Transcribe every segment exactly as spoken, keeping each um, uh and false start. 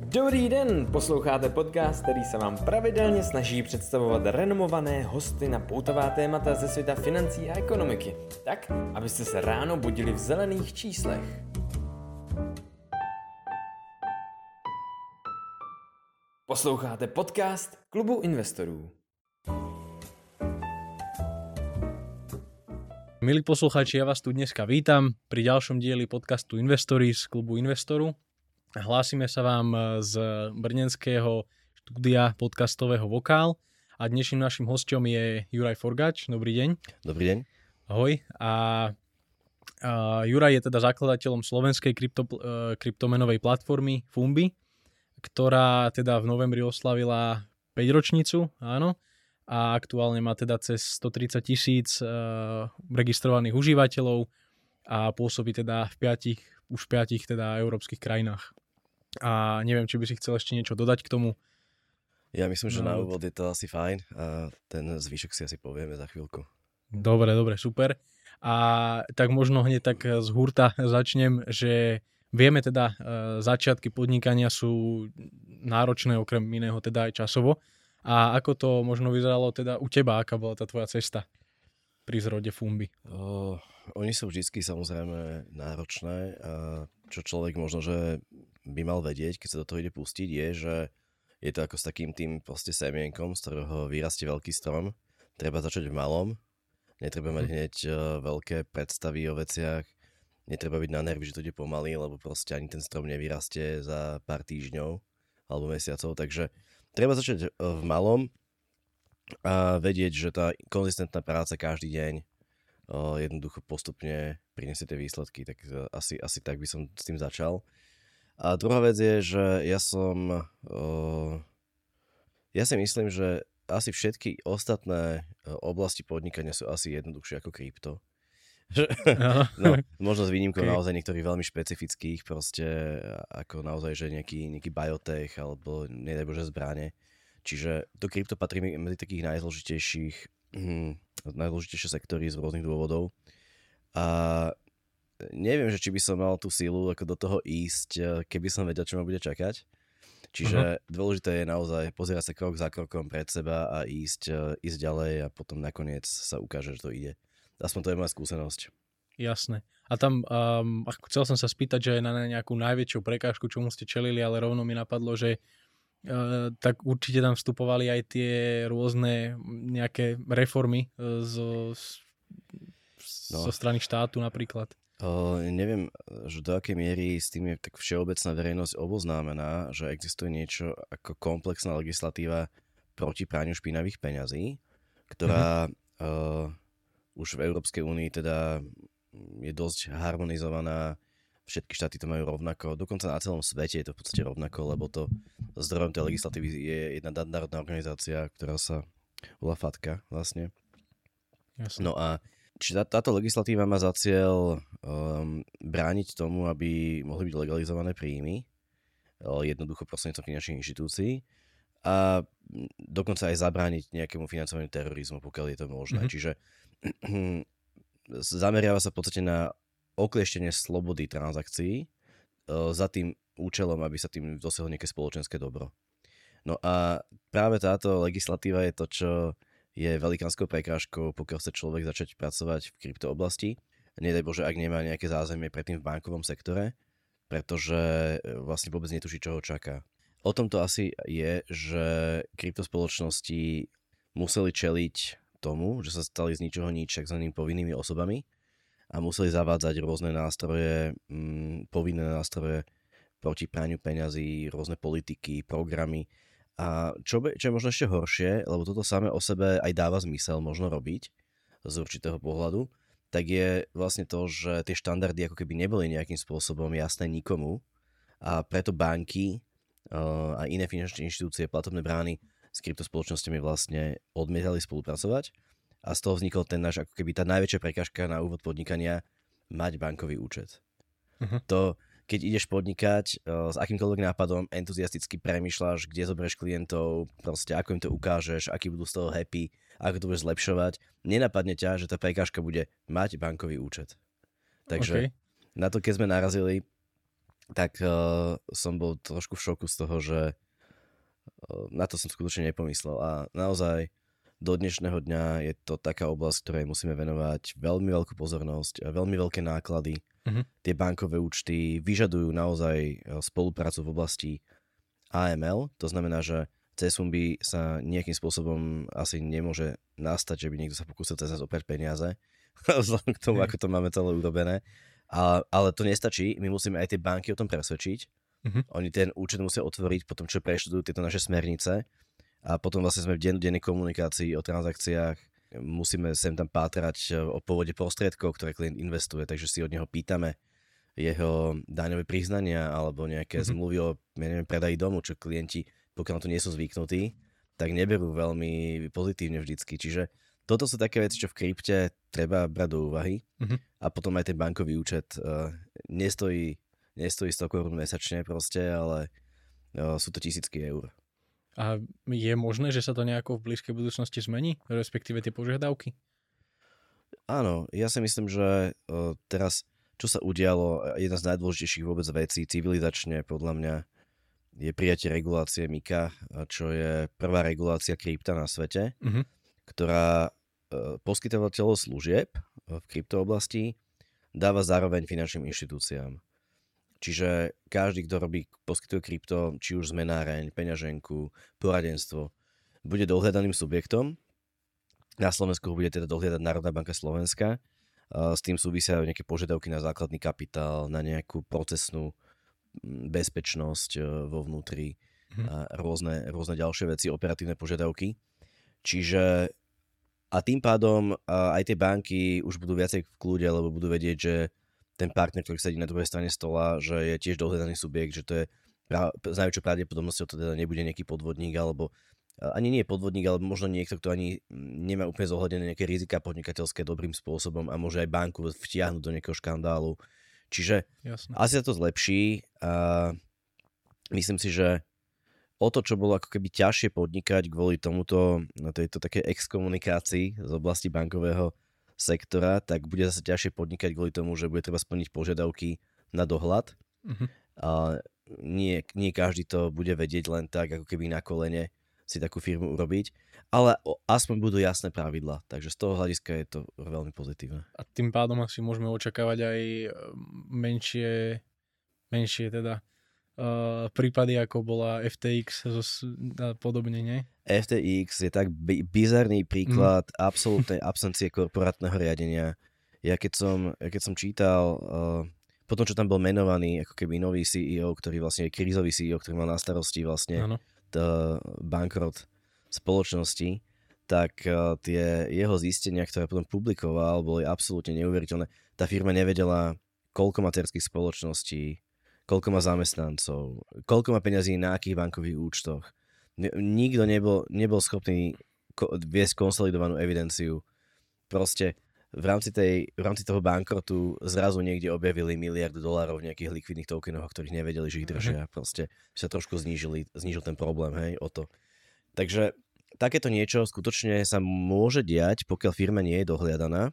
Dobrý den, posloucháte podcast, který se vám pravidelně snaží představovat renomované hosty na poutavá témata ze světa financí a ekonomiky, tak, abyste se ráno budili v zelených číslech. Posloucháte podcast Klubu investorů. Milí poslucháči, ja vás tu dneska vítam pri ďalšom dieli podcastu Investory z Klubu investoru. Hlásime sa vám z brněnského štúdia podcastového Vokál a dnešným našim hosťom je Juraj Forgač. Dobrý deň. Dobrý deň. Ahoj. A, a Juraj je teda zakladateľom slovenskej krypto, kryptomenovej platformy Fumbi, ktorá teda v novembri oslavila päťročnicu, áno. A aktuálne má teda cez stotridsať tisíc uh, registrovaných užívateľov a pôsobí teda v piatich, už v piatich teda európskych krajinách. A neviem, či by si chcel ešte niečo dodať k tomu. Ja myslím, že no, na úvod je to asi fajn a ten zvyšok si asi povieme za chvíľku. Dobre, dobre, super. A tak možno hneď tak z hurta začnem, že vieme teda, uh, začiatky podnikania sú náročné okrem iného teda aj časovo. A ako to možno vyzeralo teda u teba, aká bola tá tvoja cesta pri zrode Fumbi? Uh, oni sú vždy samozrejme náročné a čo človek možno, že by mal vedieť, keď sa do toho ide pustiť, je, že je to ako s takým tým proste semienkom, z ktorého vyrastie veľký strom. Treba začať v malom, netreba mať hneď uh, veľké predstavy o veciach, netreba byť na nervy, že to ide pomaly, lebo proste ani ten strom nevyrastie za pár týždňov alebo mesiacov, takže treba začať v malom a vedieť, že tá konzistentná práca každý deň o, jednoducho postupne prinesie tie výsledky, tak asi, asi tak by som s tým začal. A druhá vec je, že ja som, o, ja si myslím, že asi všetky ostatné oblasti podnikania sú asi jednoduchšie ako krypto. No, možno s výnimkou okay. naozaj niektorých veľmi špecifických, proste ako naozaj, že nejaký, nejaký biotech alebo nedaj Bože zbrane. Čiže to krypto patrí medzi takých najzložitejších hm, najdôležitejšie sektory z rôznych dôvodov. A neviem, že či by som mal tú sílu ako do toho ísť, keby som vedel, čo ma bude čakať. Čiže uh-huh. dôležité je naozaj pozerať sa krok za krokom pred seba a ísť, ísť ďalej a potom nakoniec sa ukáže, že to ide. Aspoň to je moja skúsenosť. Jasné. A tam um, chcel som sa spýtať, že na nejakú najväčšiu prekážku, čomu ste čelili, ale rovno mi napadlo, že uh, tak určite tam vstupovali aj tie rôzne nejaké reformy uh, zo, no. zo strany štátu napríklad. Uh, neviem, že do akej miery s tým je tak všeobecná verejnosť oboznámená, že existuje niečo ako komplexná legislatíva proti praniu špinavých peňazí, ktorá mm-hmm. uh, už v Európskej únii teda je dosť harmonizovaná, všetky štáty to majú rovnako, dokonca na celom svete je to v podstate rovnako, lebo to zdrojom tej legislatívy je jedna národná organizácia, ktorá sa volá FATCA vlastne. Jasne. No a či tá, táto legislatíva má za cieľ um, brániť tomu, aby mohli byť legalizované príjmy, jednoducho prostredníctvom finančných inštitúcií a dokonca aj zabrániť nejakému financovaniu terorizmu, pokiaľ je to možné. Mm-hmm. Čiže zameriava sa v podstate na oklieštenie slobody transakcií za tým účelom, aby sa tým dosiahlo nejaké spoločenské dobro. No a práve táto legislatíva je to, čo je velikánskou prekážkou, pokiaľ chce človek začať pracovať v kryptooblasti. Nedaj Bože, ak nemá nejaké zázemie predtým v bankovom sektore, pretože vlastne vôbec netuší, čo ho čaká. O tom to asi je, že kryptospoločnosti museli čeliť tomu, že sa stali z ničoho nič takzvanými povinnými osobami a museli zavádzať rôzne nástroje, mm, povinné nástroje proti praniu peňazí, rôzne politiky, programy. A čo, be, čo je možno ešte horšie, lebo toto samé o sebe aj dáva zmysel možno robiť z určitého pohľadu, tak je vlastne to, že tie štandardy ako keby neboli nejakým spôsobom jasné nikomu a preto banky uh, a iné finančné inštitúcie, platobné brány s kryptospoločnosťami vlastne odmietali spolupracovať a z toho vznikol ten náš ako keby tá najväčšia prekážka na úvod podnikania mať bankový účet. Uh-huh. To, keď ideš podnikať uh, s akýmkoľvek nápadom, entuziasticky premýšľaš, kde zoberieš klientov, proste ako im to ukážeš, akí budú z toho happy, ako to budeš zlepšovať, nenapadne ťa, že tá prekážka bude mať bankový účet. Takže okay. Na to, keď sme narazili, tak uh, som bol trošku v šoku z toho, že uh, na to som skutočne nepomyslel. A naozaj do dnešného dňa je to taká oblasť, ktorej musíme venovať veľmi veľkú pozornosť, a veľmi veľké náklady. Uh-huh. Tie bankové účty vyžadujú naozaj spoluprácu v oblasti á em el, to znamená, že cez Fumbi sa nejakým spôsobom asi nemôže nastať, že by niekto sa pokúsil cez nás oprať peniaze, vzhľadom k tomu, ako to máme celé urobené. A, ale to nestačí, my musíme aj tie banky o tom presvedčiť. Uh-huh. Oni ten účet musia otvoriť, potom čo preštudujú tieto naše smernice a potom vlastne sme v dennodennej komunikácii o transakciách, musíme sem tam pátrať o pôvode prostriedkov, ktoré klient investuje, takže si od neho pýtame jeho daňové priznania alebo nejaké uh-huh. zmluvy o ja neviem, predaji domu, čo klienti, pokiaľ na to nie sú zvyknutí, tak neberú veľmi pozitívne vždycky. Čiže toto sú také veci, čo v krypte treba brať do úvahy. Uh-huh. A potom aj ten bankový účet uh, nestojí, nestojí sto korún mesačne proste, ale uh, sú to tisícky eur. A je možné, že sa to nejako v blízkej budúcnosti zmení? Respektíve tie požiadavky? Áno, ja si myslím, že uh, teraz, čo sa udialo, jedna z najdôležitejších vôbec vecí civilizačne podľa mňa je prijatie regulácie MiCA, čo je prvá regulácia krypta na svete, uh-huh. ktorá uh, poskytovateľov služieb v kryptooblasti dáva zároveň finančným inštitúciám. Čiže každý, kto robí, poskytuje krypto, či už zmenáreň, peňaženku, poradenstvo, bude dohľadaným subjektom. Na Slovensku bude teda dohľadať Národná banka Slovenska. S tým súvisia nejaké požiadavky na základný kapitál, na nejakú procesnú bezpečnosť vo vnútri a rôzne, rôzne ďalšie veci, operatívne požiadavky. Čiže a tým pádom aj tie banky už budú viacej v kľude, lebo budú vedieť, že ten partner, ktorý sedí na druhej strane stola, že je tiež dohľadaný subjekt, že to je s najväčšou pravdepodobnosťou to teda nebude nejaký podvodník, alebo ani nie podvodník, ale možno niekto, kto ani nemá úplne zohľadené nejaké rizika podnikateľské dobrým spôsobom a môže aj banku vtiahnuť do nejakého škandálu. Čiže Jasne. asi sa to zlepší a myslím si, že o to, čo bolo ako keby ťažšie podnikať kvôli tomuto, na tejto takej exkomunikácii z oblasti bankového sektora, tak bude zase ťažšie podnikať kvôli tomu, že bude treba splniť požiadavky na dohľad. Uh-huh. A nie, nie každý to bude vedieť len tak, ako keby na kolene si takú firmu urobiť, ale aspoň budú jasné pravidlá, takže z toho hľadiska je to veľmi pozitívne. A tým pádom asi môžeme očakávať aj menšie, menšie teda uh, prípady, ako bola ef té iks a podobne, nie? ef té iks je tak bi- bizarný príklad mm. absolútnej absencie korporátneho riadenia. Ja keď som, ja keď som čítal, uh, potom čo tam bol menovaný ako keby nový sí í ó, ktorý vlastne je krízový sí í ó, ktorý mal na starosti vlastne ano. bankrot spoločnosti, tak uh, tie jeho zistenia, ktoré potom publikoval, boli absolútne neuveriteľné. Tá firma nevedela, koľko má dcérskych spoločností, koľko má zamestnancov, koľko má peňazí na akých bankových účtoch. Nikto nebol, nebol schopný ko- viesť konsolidovanú evidenciu. Proste v rámci, tej, v rámci toho bankrotu zrazu niekde objavili miliardu dolárov v nejakých likvidných tokenoch, o ktorých nevedeli, že ich držia. Proste sa trošku znížili, znížil ten problém, hej, o to. Takže takéto niečo skutočne sa môže diať, pokiaľ firma nie je dohliadaná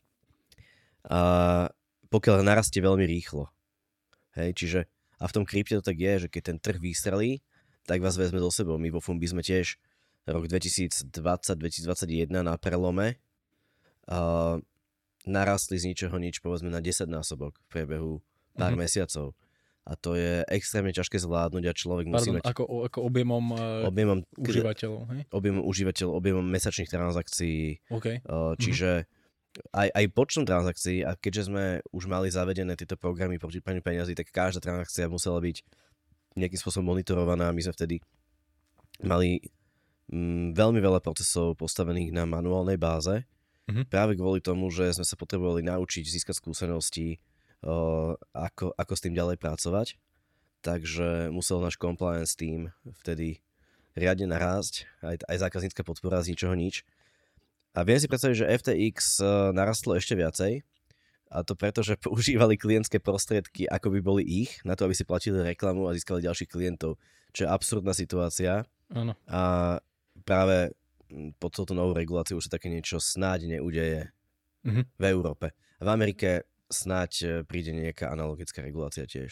a pokiaľ narastie veľmi rýchlo. Hej, čiže a v tom krypte to tak je, že keď ten trh vystrelí, tak vás vezme so sebou. My vo Fumbi sme tiež rok dvetisícdvadsať dvetisícdvadsaťjeden na prelome Uh, narastli z ničoho nič, povedzme na desaťnásobok v priebehu pár mm-hmm. mesiacov. A to je extrémne ťažké zvládnuť a človek musí Pardon, mať... Ako, ako objemom, uh, objemom užívateľov, hej? Objemom užívateľov, objemom mesačných transakcií. Okay. Uh, čiže mm-hmm. aj, aj počtom transakcií, a keďže sme už mali zavedené tieto programy proti praniu peňazí, tak každá transakcia musela byť nejakým spôsobom monitorovaná. My sme vtedy mali mm, veľmi veľa procesov postavených na manuálnej báze. Mm-hmm. Práve kvôli tomu, že sme sa potrebovali naučiť získať skúsenosti, uh, ako, ako s tým ďalej pracovať. Takže musel náš compliance team vtedy riadne narásť, aj, aj zákaznícka podpora z ničoho nič. A viem si predstaviť, že ef té iks uh, narastlo ešte viacej, a to preto, že používali klientské prostriedky, ako by boli ich, na to, aby si platili reklamu a získali ďalších klientov, čo je absurdná situácia. Áno. A práve pod touto novou reguláciou už sa také niečo snáď neudeje mm-hmm. v Európe. V Amerike snáď príde nejaká analogická regulácia tiež.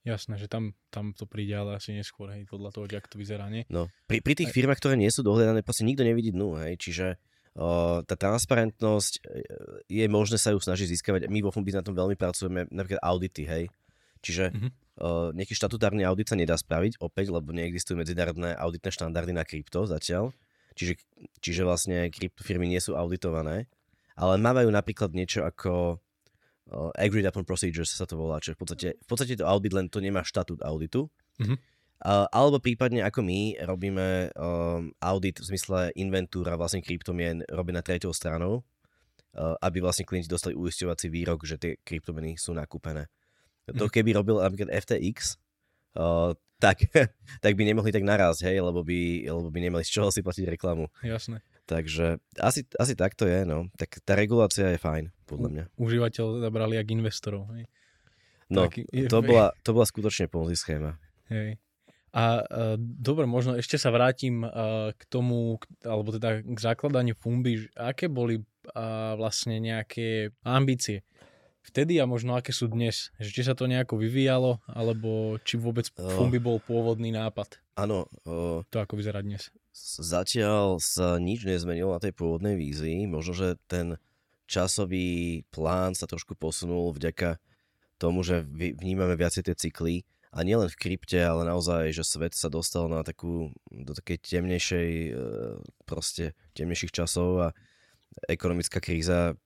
Jasné, že tam, tam to príde, ale asi neskôr, hej, podľa toho, jak to vyzerá, nie? No, pri, pri tých firmách, ktoré nie sú dohľadané, proste nikto nevidí dnu, hej, čiže uh, tá transparentnosť je možné sa ju snažiť získavať. My vo Funbi na tom veľmi pracujeme, napríklad audity, hej, čiže mm-hmm. uh, nejaký štatutárny audit sa nedá spraviť, opäť, lebo neexistujú medzinárodné auditné štandardy na krypto zatiaľ, čiže, čiže vlastne kryptofirmy nie sú auditované, ale mávajú napríklad niečo ako uh, agreed upon procedures sa to volá, čiže v podstate, v podstate to audit, len to nemá štatút auditu. Mm-hmm. Uh, alebo prípadne ako my robíme um, audit v zmysle inventúra vlastne kryptomien robená treťou stranou, uh, aby vlastne klienti dostali uisťovací výrok, že tie kryptomeny sú nakúpené. Mm-hmm. To keby robil napríklad ef té iks, uh, tak, tak by nemohli tak narásť, hej, lebo by, lebo by nemali z čoho si platiť reklamu. Jasné. Takže asi, asi tak to je, no. Tak tá regulácia je fajn, podľa mňa. Užívateľ zabrali jak investorov, hej. No, tak, to, bola, to bola skutočne Ponzi schéma. Hej. A uh, dobre, možno ešte sa vrátim uh, k tomu, k, alebo teda k zakladaniu Funbi. Aké boli uh, vlastne nejaké ambície vtedy a možno aké sú dnes? Že či sa to nejako vyvíjalo, alebo či vôbec Funbi bol pôvodný nápad? Áno. Uh, to ako vyzerá dnes? Zatiaľ sa nič nezmenilo na tej pôvodnej vízii. Možno, že ten časový plán sa trošku posunul vďaka tomu, že vnímame viacej tie cykly. A nielen v krypte, ale naozaj, že svet sa dostal na takú, do takej temnejšej, proste temnejších časov a ekonomická kríza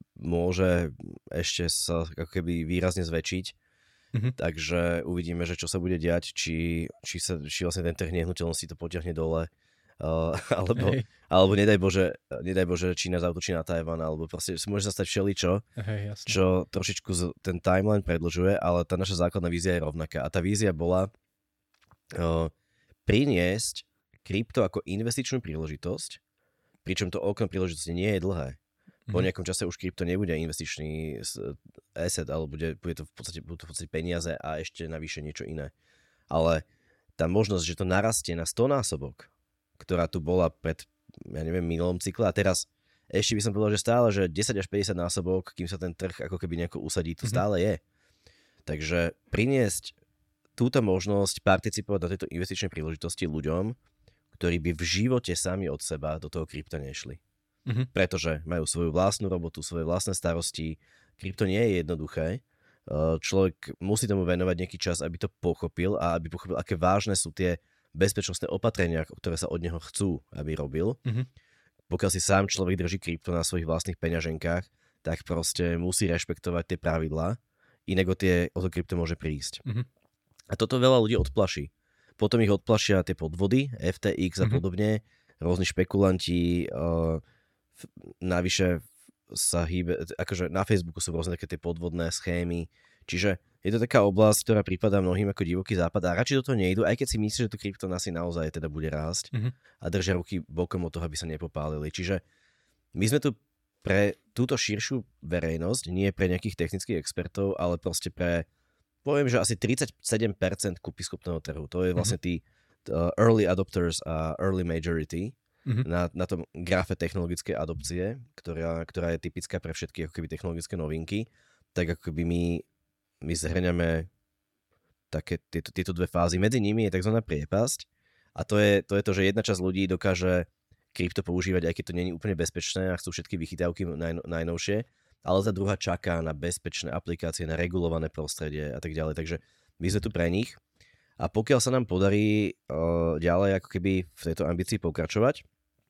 môže ešte sa ako keby výrazne zväčšiť. Mm-hmm. Takže uvidíme, že čo sa bude diať, či, či, sa, či vlastne ten trh nehnuteľnosti to potiahne dole, uh, alebo, alebo nedaj Bože, nedaj Bože Čína zautočí na Tajvan, alebo proste môže sa stať všeličo, Hej, čo trošičku z, ten timeline predĺžuje, ale tá naša základná vízia je rovnaká. A tá vízia bola uh, priniesť krypto ako investičnú príležitosť, pričom to okno príležitosti nie je dlhé. Po nejakom čase už krypto nebude investičný asset, ale bude, bude to v podstate, budú to v podstate peniaze a ešte navyše niečo iné. Ale tá možnosť, že to narastie na sto násobok, ktorá tu bola pred, ja neviem, minulom cykle a teraz ešte by som povedal, že stále, že desať až päťdesiat násobok, kým sa ten trh ako keby nejako usadí, to mm-hmm. stále je. Takže priniesť túto možnosť participovať na tejto investičnej príležitosti ľuďom, ktorí by v živote sami od seba do toho krypta nešli. Mm-hmm. Pretože majú svoju vlastnú robotu, svoje vlastné starosti. Krypto nie je jednoduché. Človek musí tomu venovať nejaký čas, aby to pochopil a aby pochopil, aké vážne sú tie bezpečnostné opatrenia, ktoré sa od neho chcú, aby robil. Mm-hmm. Pokiaľ si sám človek drží krypto na svojich vlastných peňaženkách, tak proste musí rešpektovať tie pravidlá, inak o, tie, o to krypto môže prísť. Mm-hmm. A toto veľa ľudí odplaší. Potom ich odplašia tie podvody, ef té iks mm-hmm. a podobne, rôzni špekulanti, uh, navyše sa hýbe, akože na Facebooku sú rôzne také tie podvodné schémy, čiže je to taká oblasť, ktorá prípada mnohým ako divoký západ a radšej do toho nejdu, aj keď si myslíš, že to krypto asi naozaj teda bude rásť mm-hmm. a držia ruky bokom od toho, aby sa nepopálili. Čiže my sme tu pre túto širšiu verejnosť, nie pre nejakých technických expertov, ale proste pre, poviem, že asi tridsaťsedem percent kúpyschopného trhu. To je vlastne tí uh, early adopters a early majority, Mm-hmm. Na, na tom grafe technologickej adopcie, ktorá, ktorá je typická pre všetky ako keby technologické novinky, tak ako keby my, my zhrňame také tieto, tieto dve fázy. Medzi nimi je tzv. Priepasť a to je, to je to, že jedna časť ľudí dokáže krypto používať, aj keď to nie je úplne bezpečné a chcú všetky vychytávky naj, najnovšie, ale tá druhá čaká na bezpečné aplikácie, na regulované prostredie a tak ďalej. Takže my sme tu pre nich a pokiaľ sa nám podarí uh, ďalej ako keby v tejto ambícii pokračovať,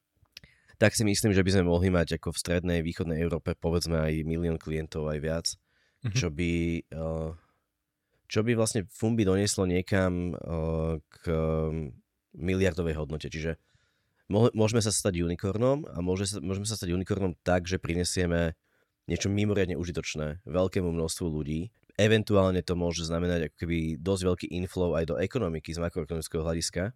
tak si myslím, že by sme mohli mať ako v strednej, východnej Európe povedzme aj milión klientov, aj viac, mm-hmm. čo by uh, čo by vlastne Funbi donieslo niekam uh, k um, miliardovej hodnote. Čiže mo- môžeme sa stať unikornom a môže sa, môžeme sa stať unikornom tak, že prinesieme niečo mimoriadne užitočné veľkému množstvu ľudí. Eventuálne to môže znamenať ako keby dosť veľký inflow aj do ekonomiky z makroekonomického hľadiska.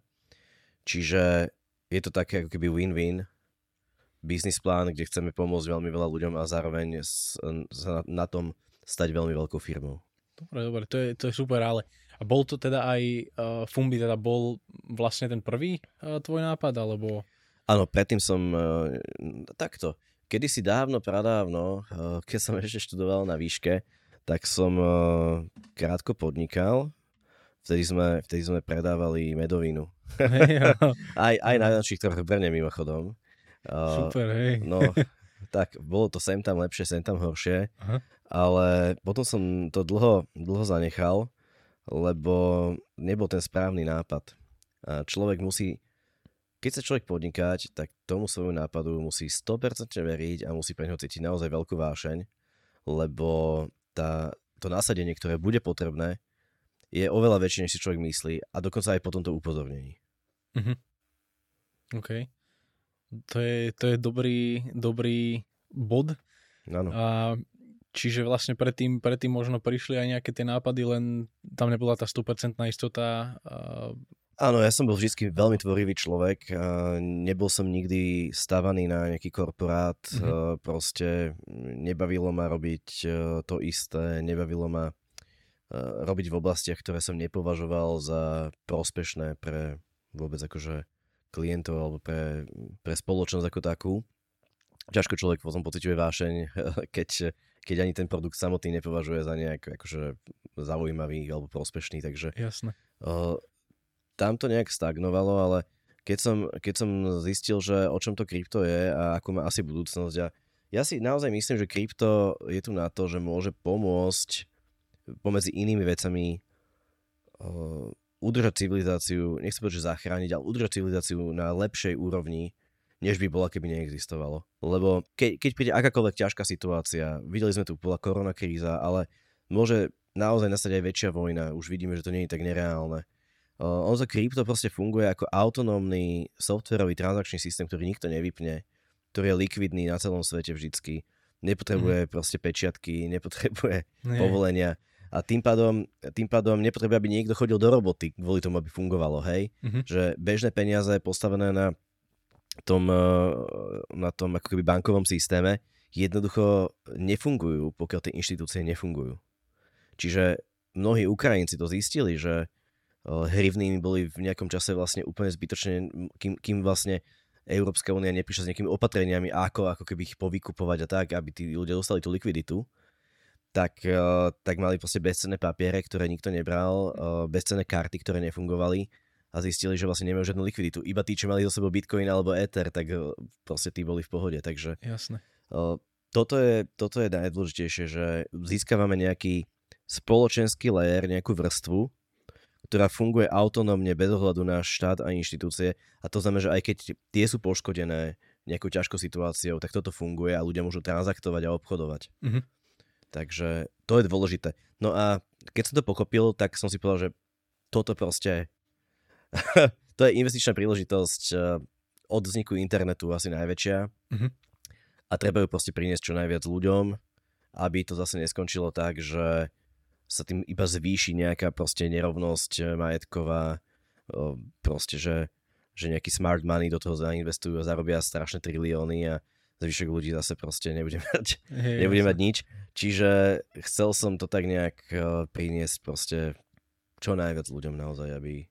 Čiže je to také ako keby win-win business plán, kde chceme pomôcť veľmi veľa ľuďom a zároveň sa na, na tom stať veľmi veľkou firmou. Dobre, dobre, to je, to je super, ale a bol to teda aj uh, Funbi, teda bol vlastne ten prvý uh, tvoj nápad, alebo? Áno, predtým som uh, takto, kedysi dávno, pradávno, uh, keď som ešte študoval na výške, tak som uh, krátko podnikal Vtedy sme, vtedy sme predávali medovinu. Hej, aj, aj na našich trhoch v Brne mimochodom. Uh, super, hej. No, tak bolo to sem tam lepšie, sem tam horšie, Aha. ale potom som to dlho, dlho zanechal, lebo nebol ten správny nápad. A človek musí, keď sa človek podnikať, tak tomu svojmu nápadu musí sto percent veriť a musí pre ňo cítiť naozaj veľkú vášeň, lebo tá, to nasadenie, ktoré bude potrebné, je oveľa väčšie, než si človek myslí a dokonca aj po tomto upozornení. Mhm. OK. To je, to je dobrý, dobrý bod. Áno. A čiže vlastne predtým, predtým možno prišli aj nejaké tie nápady, len tam nebola tá sto percent istota. A... Áno, ja som bol vždy veľmi tvorivý človek. Nebol som nikdy stavaný na nejaký korporát. Mm-hmm. Proste nebavilo ma robiť to isté, nebavilo ma robiť v oblastiach, ktoré som nepovažoval za prospešné pre vôbec akože klientov alebo pre, pre spoločnosť ako takú. Ťažko človek potom pociťuje vášeň, keď, keď ani ten produkt samotný nepovažuje za nejak akože zaujímavý alebo prospešný, takže Jasné. Uh, tam to nejak stagnovalo, ale keď som, keď som zistil, že o čom to krypto je a ako má asi budúcnosť a ja si naozaj myslím, že krypto je tu na to, že môže pomôcť pomedzi inými vecami uh, udržať civilizáciu, nechcem povedať, že zachrániť, ale udržať civilizáciu na lepšej úrovni, než by bola, keby neexistovalo. Lebo ke, keď príde akákoľvek ťažká situácia, videli sme tu, bola koronakríza, ale môže naozaj nastať aj väčšia vojna, už vidíme, že to nie je tak nereálne. Uh, ono to krypto proste funguje ako autonómny softwarový transakčný systém, ktorý nikto nevypne, ktorý je likvidný na celom svete vždycky. Nepotrebuje mm. proste pečiatky, nepotrebuje Nie. povolenia. A tým pádom, tým pádom nepotrebuje, aby niekto chodil do roboty kvôli tomu, aby fungovalo, hej? Mm-hmm. Že bežné peniaze postavené na tom, na tom ako keby bankovom systéme jednoducho nefungujú, pokiaľ tie inštitúcie nefungujú. Čiže mnohí Ukrajinci to zistili, že hrivny boli v nejakom čase vlastne úplne zbytočne, kým, kým vlastne Európska únia neprišla s nejakými opatreniami, ako, ako keby ich povykupovať a tak, aby tí ľudia dostali tú likviditu. Tak, tak mali proste bezcenné papiere, ktoré nikto nebral, bezcenné karty, ktoré nefungovali a zistili, že vlastne nemajú žiadnu likviditu. Iba tí, čo mali zo sebou Bitcoin alebo Ether, tak proste tí boli v pohode. Takže Jasné. Toto je, toto je najdôležitejšie, že získavame nejaký spoločenský layer, nejakú vrstvu, ktorá funguje autonómne bez ohľadu na štát a inštitúcie. A to znamená, že aj keď tie sú poškodené nejakou ťažkou situáciou, tak toto funguje a ľudia môžu transaktovať a obchodovať. Mm-hmm. Takže to je dôležité. No a keď som to pochopil, tak som si povedal, že toto proste to je investičná príležitosť od vzniku internetu asi najväčšia mm-hmm. a treba ju proste priniesť čo najviac ľuďom, aby to zase neskončilo tak, že sa tým iba zvýši nejaká proste nerovnosť majetková, proste, že, že nejaký smart money do toho zainvestujú a zarobia strašné trilióny a zvyšok ľudí zase proste nebude mať, hey, nebude mať nič. Čiže chcel som to tak nejak uh, priniesť proste čo najviac ľuďom naozaj, aby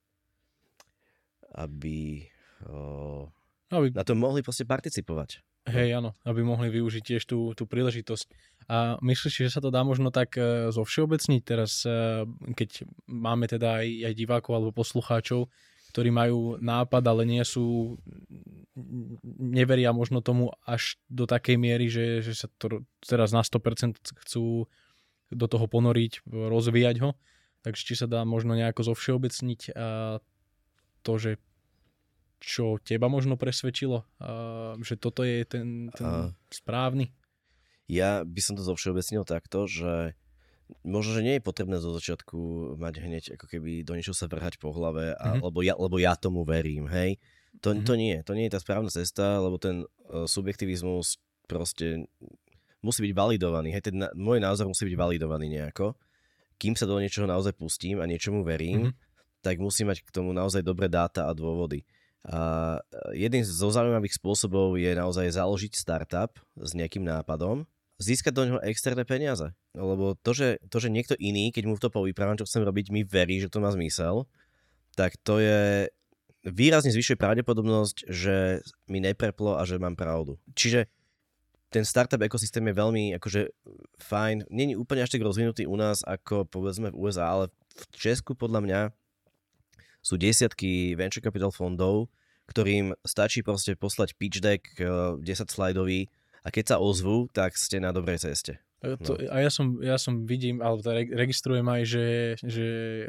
aby, uh, aby na to mohli proste participovať. Hej, áno, aby mohli využiť tiež tú, tú príležitosť. A myslíš, že sa to dá možno tak uh, zo všeobecniť teraz, uh, keď máme teda aj, aj divákov alebo poslucháčov, ktorí majú nápad, ale nie sú, neveria možno tomu až do takej miery, že, že sa to teraz na sto percent chcú do toho ponoriť, rozvíjať ho. Takže či sa dá možno nejako zovšeobecniť a to, že čo teba možno presvedčilo, a že toto je ten, ten a... správny? Ja by som to zovšeobecnil takto, že možno, že nie je potrebné zo začiatku mať hneď ako keby do niečoho sa vrhať po hlave, a, mm-hmm. lebo, ja, lebo ja tomu verím, hej. To, mm-hmm. to nie, to nie je tá správna cesta, lebo ten uh, subjektivizmus proste musí byť validovaný, hej, ten na, môj názor musí byť validovaný nejako. Kým sa do niečoho naozaj pustím a niečomu verím, mm-hmm. tak musím mať k tomu naozaj dobré dáta a dôvody. A jeden zo zaujímavých spôsobov je naozaj založiť startup s nejakým nápadom, získať do neho externé peniaze. Lebo to že, to, že niekto iný, keď mu to povyprávam, čo chcem robiť, mi verí, že to má zmysel, tak to je výrazne zvyšuje pravdepodobnosť, že mi nepreplo a že mám pravdu. Čiže ten startup ekosystém je veľmi akože fajn. Nie je úplne až tak rozvinutý u nás, ako povedzme v ú es á, ale v Česku podľa mňa sú desiatky venture capital fondov, ktorým stačí proste poslať pitch deck desať slajdový a keď sa ozvú, tak ste na dobrej ceste. No. To, a ja som, ja som vidím, alebo teda registrujem aj, že, že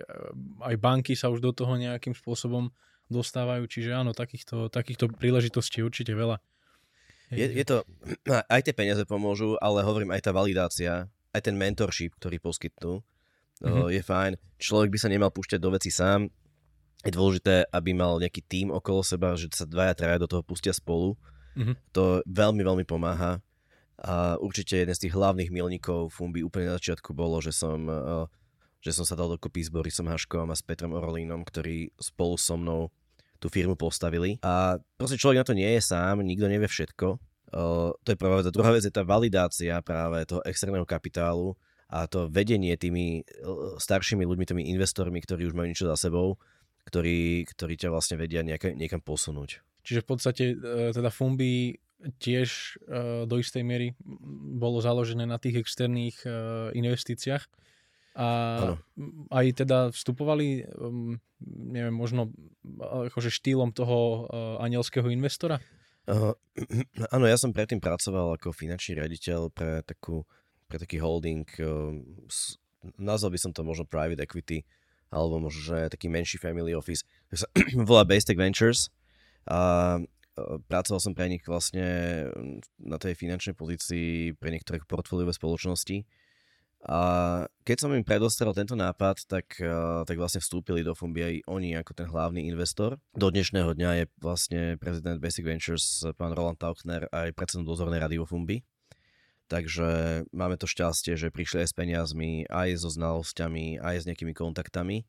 aj banky sa už do toho nejakým spôsobom dostávajú, čiže áno, takýchto, takýchto príležitostí určite veľa. Je, je to, aj tie peniaze pomôžu, ale hovorím, aj tá validácia, aj ten mentorship, ktorý poskytnú, mm-hmm. je fajn. Človek by sa nemal púšťať do veci sám. Je dôležité, aby mal nejaký tím okolo seba, že sa dvaja, traja do toho pustia spolu. Mm-hmm. To veľmi, veľmi pomáha. A určite jeden z tých hlavných milníkov Fumbi úplne na začiatku bolo, že som, že som sa dal dokopy s Borisom Haškom a s Petrom Orolínom, ktorí spolu so mnou tú firmu postavili. A proste človek na to nie je sám, nikto nevie všetko. Uh, to je prvá vec. A druhá vec je tá validácia práve toho externého kapitálu a to vedenie tými staršími ľuďmi, tými investormi, ktorí už majú niečo za sebou, ktorí, ktorí ťa vlastne vedia nejaká, niekam posunúť. Čiže v podstate teda Fumbi tiež do istej miery bolo založené na tých externých investíciách a ano. Aj teda vstupovali, neviem, možno akože štýlom toho anielského investora? Uh, áno, ja som predtým pracoval ako finančný riaditeľ pre, takú, pre taký holding, uh, nazval by som to možno private equity, alebo možno, že taký menší family office, tak sa volá Basic Ventures a uh, pracoval som pre nich vlastne na tej finančnej pozícii pre niektoré portfóliové spoločnosti. A keď som im predostrel tento nápad, tak, uh, tak vlastne vstúpili do Fumbi aj oni ako ten hlavný investor. Do dnešného dňa je vlastne prezident Basic Ventures pán Roland Tauchner aj predsedom dozornej rady vo Fumbi. Takže máme to šťastie, že prišli aj s peniazmi, aj so znalosťami, aj s nejakými kontaktami.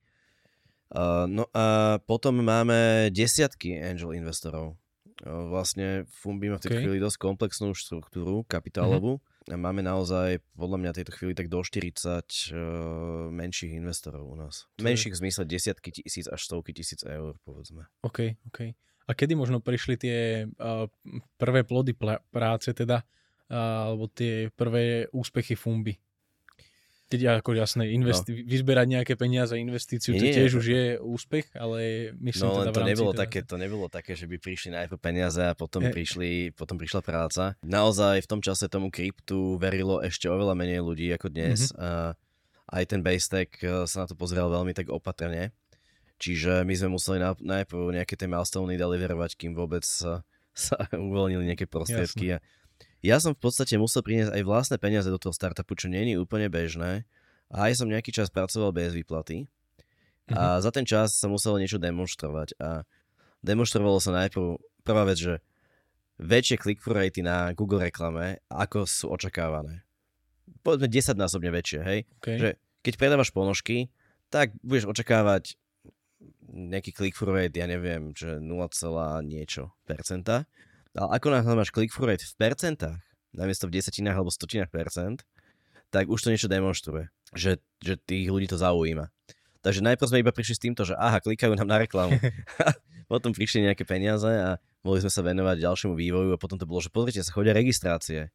Uh, no a potom máme desiatky angel investorov. Uh, vlastne Fumbi má v tej okay. chvíli dosť komplexnú štruktúru kapitálovú. Mm-hmm. A máme naozaj, podľa mňa, tejto chvíli tak do štyridsať uh, menších investorov u nás. To menších je... v zmysle desiatky tisíc až stovky tisíc eur, povedzme. OK, OK. A kedy možno prišli tie uh, prvé plody pl- práce, teda, uh, alebo tie prvé úspechy Fumbi? Keď ako jasné, investi- no. vyzberať nejaké peniaze, investíciu, to tiež už je úspech, ale myslím no, teda v to rámci... Nebolo teda... také, to nebolo také, že by prišli najprv peniaze a potom, e... prišli, potom prišla práca. Naozaj v tom čase tomu kryptu verilo ešte oveľa menej ľudí ako dnes. Mm-hmm. A aj ten Basetack sa na to pozeral veľmi tak opatrne. Čiže my sme museli najprv nejaké tie milestone deliverovať, kým vôbec sa, sa uvoľnili nejaké prostriedky. Jasne. Ja som v podstate musel priniesť aj vlastné peniaze do toho startupu, čo nie je úplne bežné. A aj som nejaký čas pracoval bez výplaty. Mm-hmm. A za ten čas sa muselo niečo demonštrovať. A demonštrovalo sa najprv, prvá vec, že väčšie click-through ratey na Google reklame, ako sú očakávané. Povedzme desaťnásobne väčšie, hej? Okay. Že keď predávaš ponožky, tak budeš očakávať nejaký click-through rate, ja neviem, že nula, niečo percenta. Ale ako náhle máš click-through rate v percentách, namiesto v desatinách alebo stotinách percent, tak už to niečo demonstruje, že, že tých ľudí to zaujíma. Takže najprv sme iba prišli s týmto, že aha, klikajú nám na reklamu. Potom prišli nejaké peniaze a mohli sme sa venovať ďalšiemu vývoju a potom to bolo, že pozrite sa, chodia registrácie.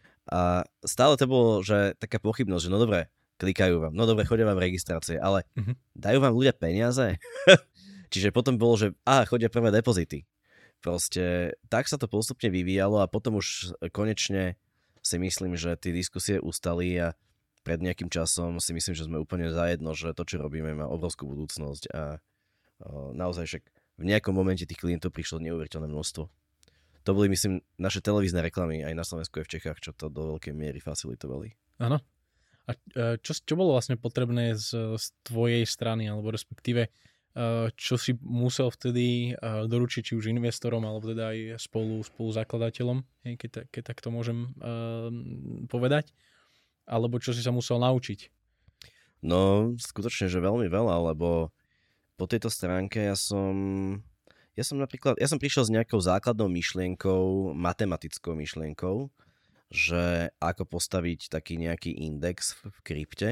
A stále to bolo, že taká pochybnosť, že no dobre, klikajú vám, no dobre, chodia vám registrácie, ale uh-huh. dajú vám ľudia peniaze? Čiže potom bolo, že aha, chodia prvé depozity. Proste tak sa to postupne vyvíjalo a potom už konečne si myslím, že tie diskusie ustali a pred nejakým časom si myslím, že sme úplne zajedno, že to, čo robíme, má obrovskú budúcnosť a o, naozaj však v nejakom momente tých klientov prišlo neuveriteľné množstvo. To boli, myslím, naše televízne reklamy aj na Slovensku aj v Čechách, čo to do veľkej miery facilitovali. Áno. A čo, čo bolo vlastne potrebné z, z tvojej strany, alebo respektíve čo si musel vtedy doručiť či už investorom, alebo teda aj spolu, spolu zakladateľom, keď, keď tak to môžem uh, povedať, alebo čo si sa musel naučiť? No, skutočne, že veľmi veľa, lebo po tejto stránke ja som, ja som napríklad, ja som prišiel s nejakou základnou myšlienkou, matematickou myšlienkou, že ako postaviť taký nejaký index v krypte,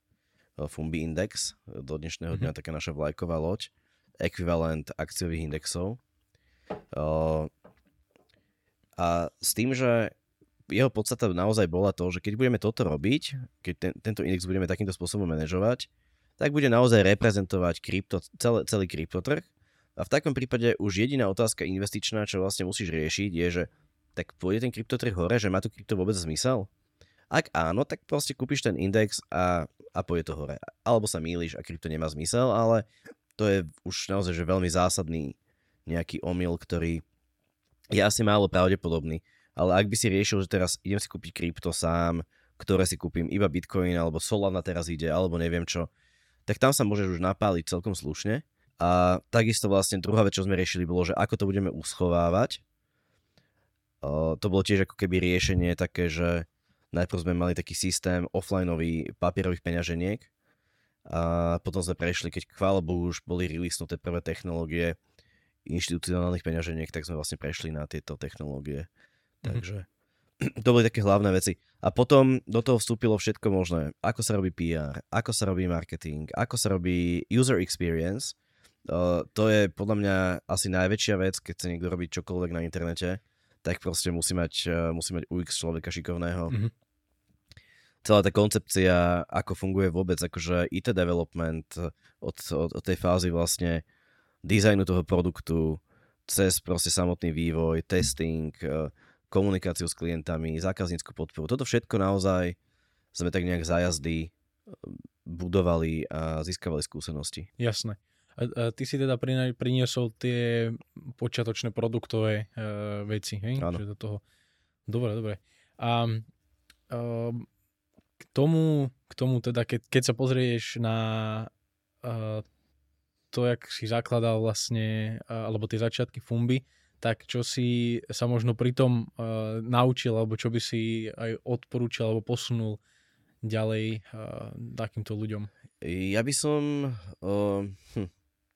Fumbi Index, do dnešného dňa mm-hmm. taká naša vlajková loď, ekvivalent akciových indexov. A s tým, že jeho podstata naozaj bola to, že keď budeme toto robiť, keď ten, tento index budeme takýmto spôsobom manažovať, tak bude naozaj reprezentovať krypto, celý, celý kryptotrh. A v takom prípade už jediná otázka investičná, čo vlastne musíš riešiť, je, že tak pôjde ten kryptotrh hore, že má to krypto vôbec zmysel? Ak áno, tak proste kúpiš ten index a, a pôjde to hore. Alebo sa mýliš a krypto nemá zmysel, ale to je už naozaj že veľmi zásadný nejaký omyl, ktorý je asi málo pravdepodobný. Ale ak by si riešil, že teraz idem si kúpiť krypto sám, ktoré si kúpim iba Bitcoin, alebo Solana teraz ide, alebo neviem čo, tak tam sa môžeš už napáliť celkom slušne. A takisto vlastne druhá vec, čo sme riešili, bolo, že ako to budeme uschovávať. O, to bolo tiež ako keby riešenie také, že najprv sme mali taký systém offlineový papierových peňaženiek a potom sme prešli, keď chvála Bohu už boli releasnuté prvé technológie inštitucionálnych peňaženiek, tak sme vlastne prešli na tieto technológie. Mm-hmm. Takže to boli také hlavné veci. A potom do toho vstúpilo všetko možné. Ako sa robí pé er, ako sa robí marketing, ako sa robí user experience. Uh, to je podľa mňa asi najväčšia vec, keď chce niekto robiť čokoľvek na internete, tak proste musí mať, uh, musí mať ú iks človeka šikovného. Mm-hmm. Celá tá koncepcia, ako funguje vôbec akože í té development od, od, od tej fázy vlastne dizajnu toho produktu cez proste samotný vývoj, testing, komunikáciu s klientami, zákaznícku podporu. Toto všetko naozaj sme tak nejak za jazdy budovali a získavali skúsenosti. Jasné. A, a ty si teda priniesol tie počiatočné produktové uh, veci, hej? Áno. Do toho. Dobre, dobre. A uh, k tomu, k tomu teda, keď, keď sa pozrieš na uh, to, jak si zakladal vlastne, uh, alebo tie začiatky Fumby, tak čo si sa možno pri tom uh, naučil, alebo čo by si aj odporúčil, alebo posunul ďalej uh, takýmto ľuďom? Ja by som... Uh, hm.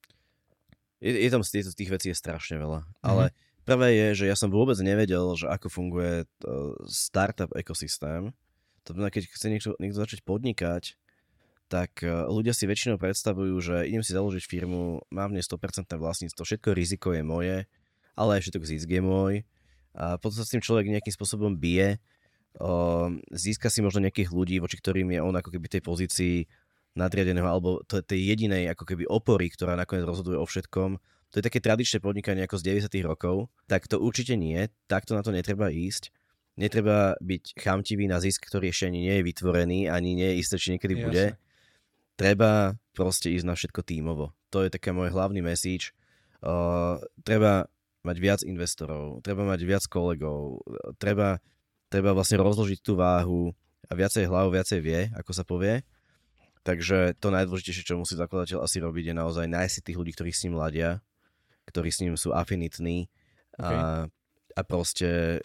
je, je tam z tých vecí je strašne veľa, mm-hmm. ale prvé je, že ja som vôbec nevedel, že ako funguje uh, startup ekosystém. To znamená, keď chce niekto, niekto začať podnikať, tak uh, ľudia si väčšinou predstavujú, že idem si založiť firmu, mám v nej sto percent vlastníctvo, všetko riziko je moje, ale aj všetok zisk je môj. A potom sa s tým človek nejakým spôsobom bije, uh, získa si možno nejakých ľudí, voči ktorým je on ako keby tej pozícii nadriadeného, alebo to, tej jedinej ako keby opory, ktorá nakoniec rozhoduje o všetkom. To je také tradičné podnikanie ako z deväťdesiatych rokov, tak to určite nie, takto na to netreba ísť. Netreba byť chamtivý na zisk, ktorý ešte ani nie je vytvorený, ani nie je isté, či niekedy Jasne. Bude. Treba proste ísť na všetko tímovo. To je taký môj hlavný message. Uh, treba mať viac investorov, treba mať viac kolegov, treba, treba vlastne rozložiť tú váhu a viacej hlav, viacej vie, ako sa povie. Takže to najdôležitejšie, čo musí zakladateľ asi robiť, je naozaj nájsť si tých ľudí, ktorí s ním ladia, ktorí s ním sú afinitní okay. a, a proste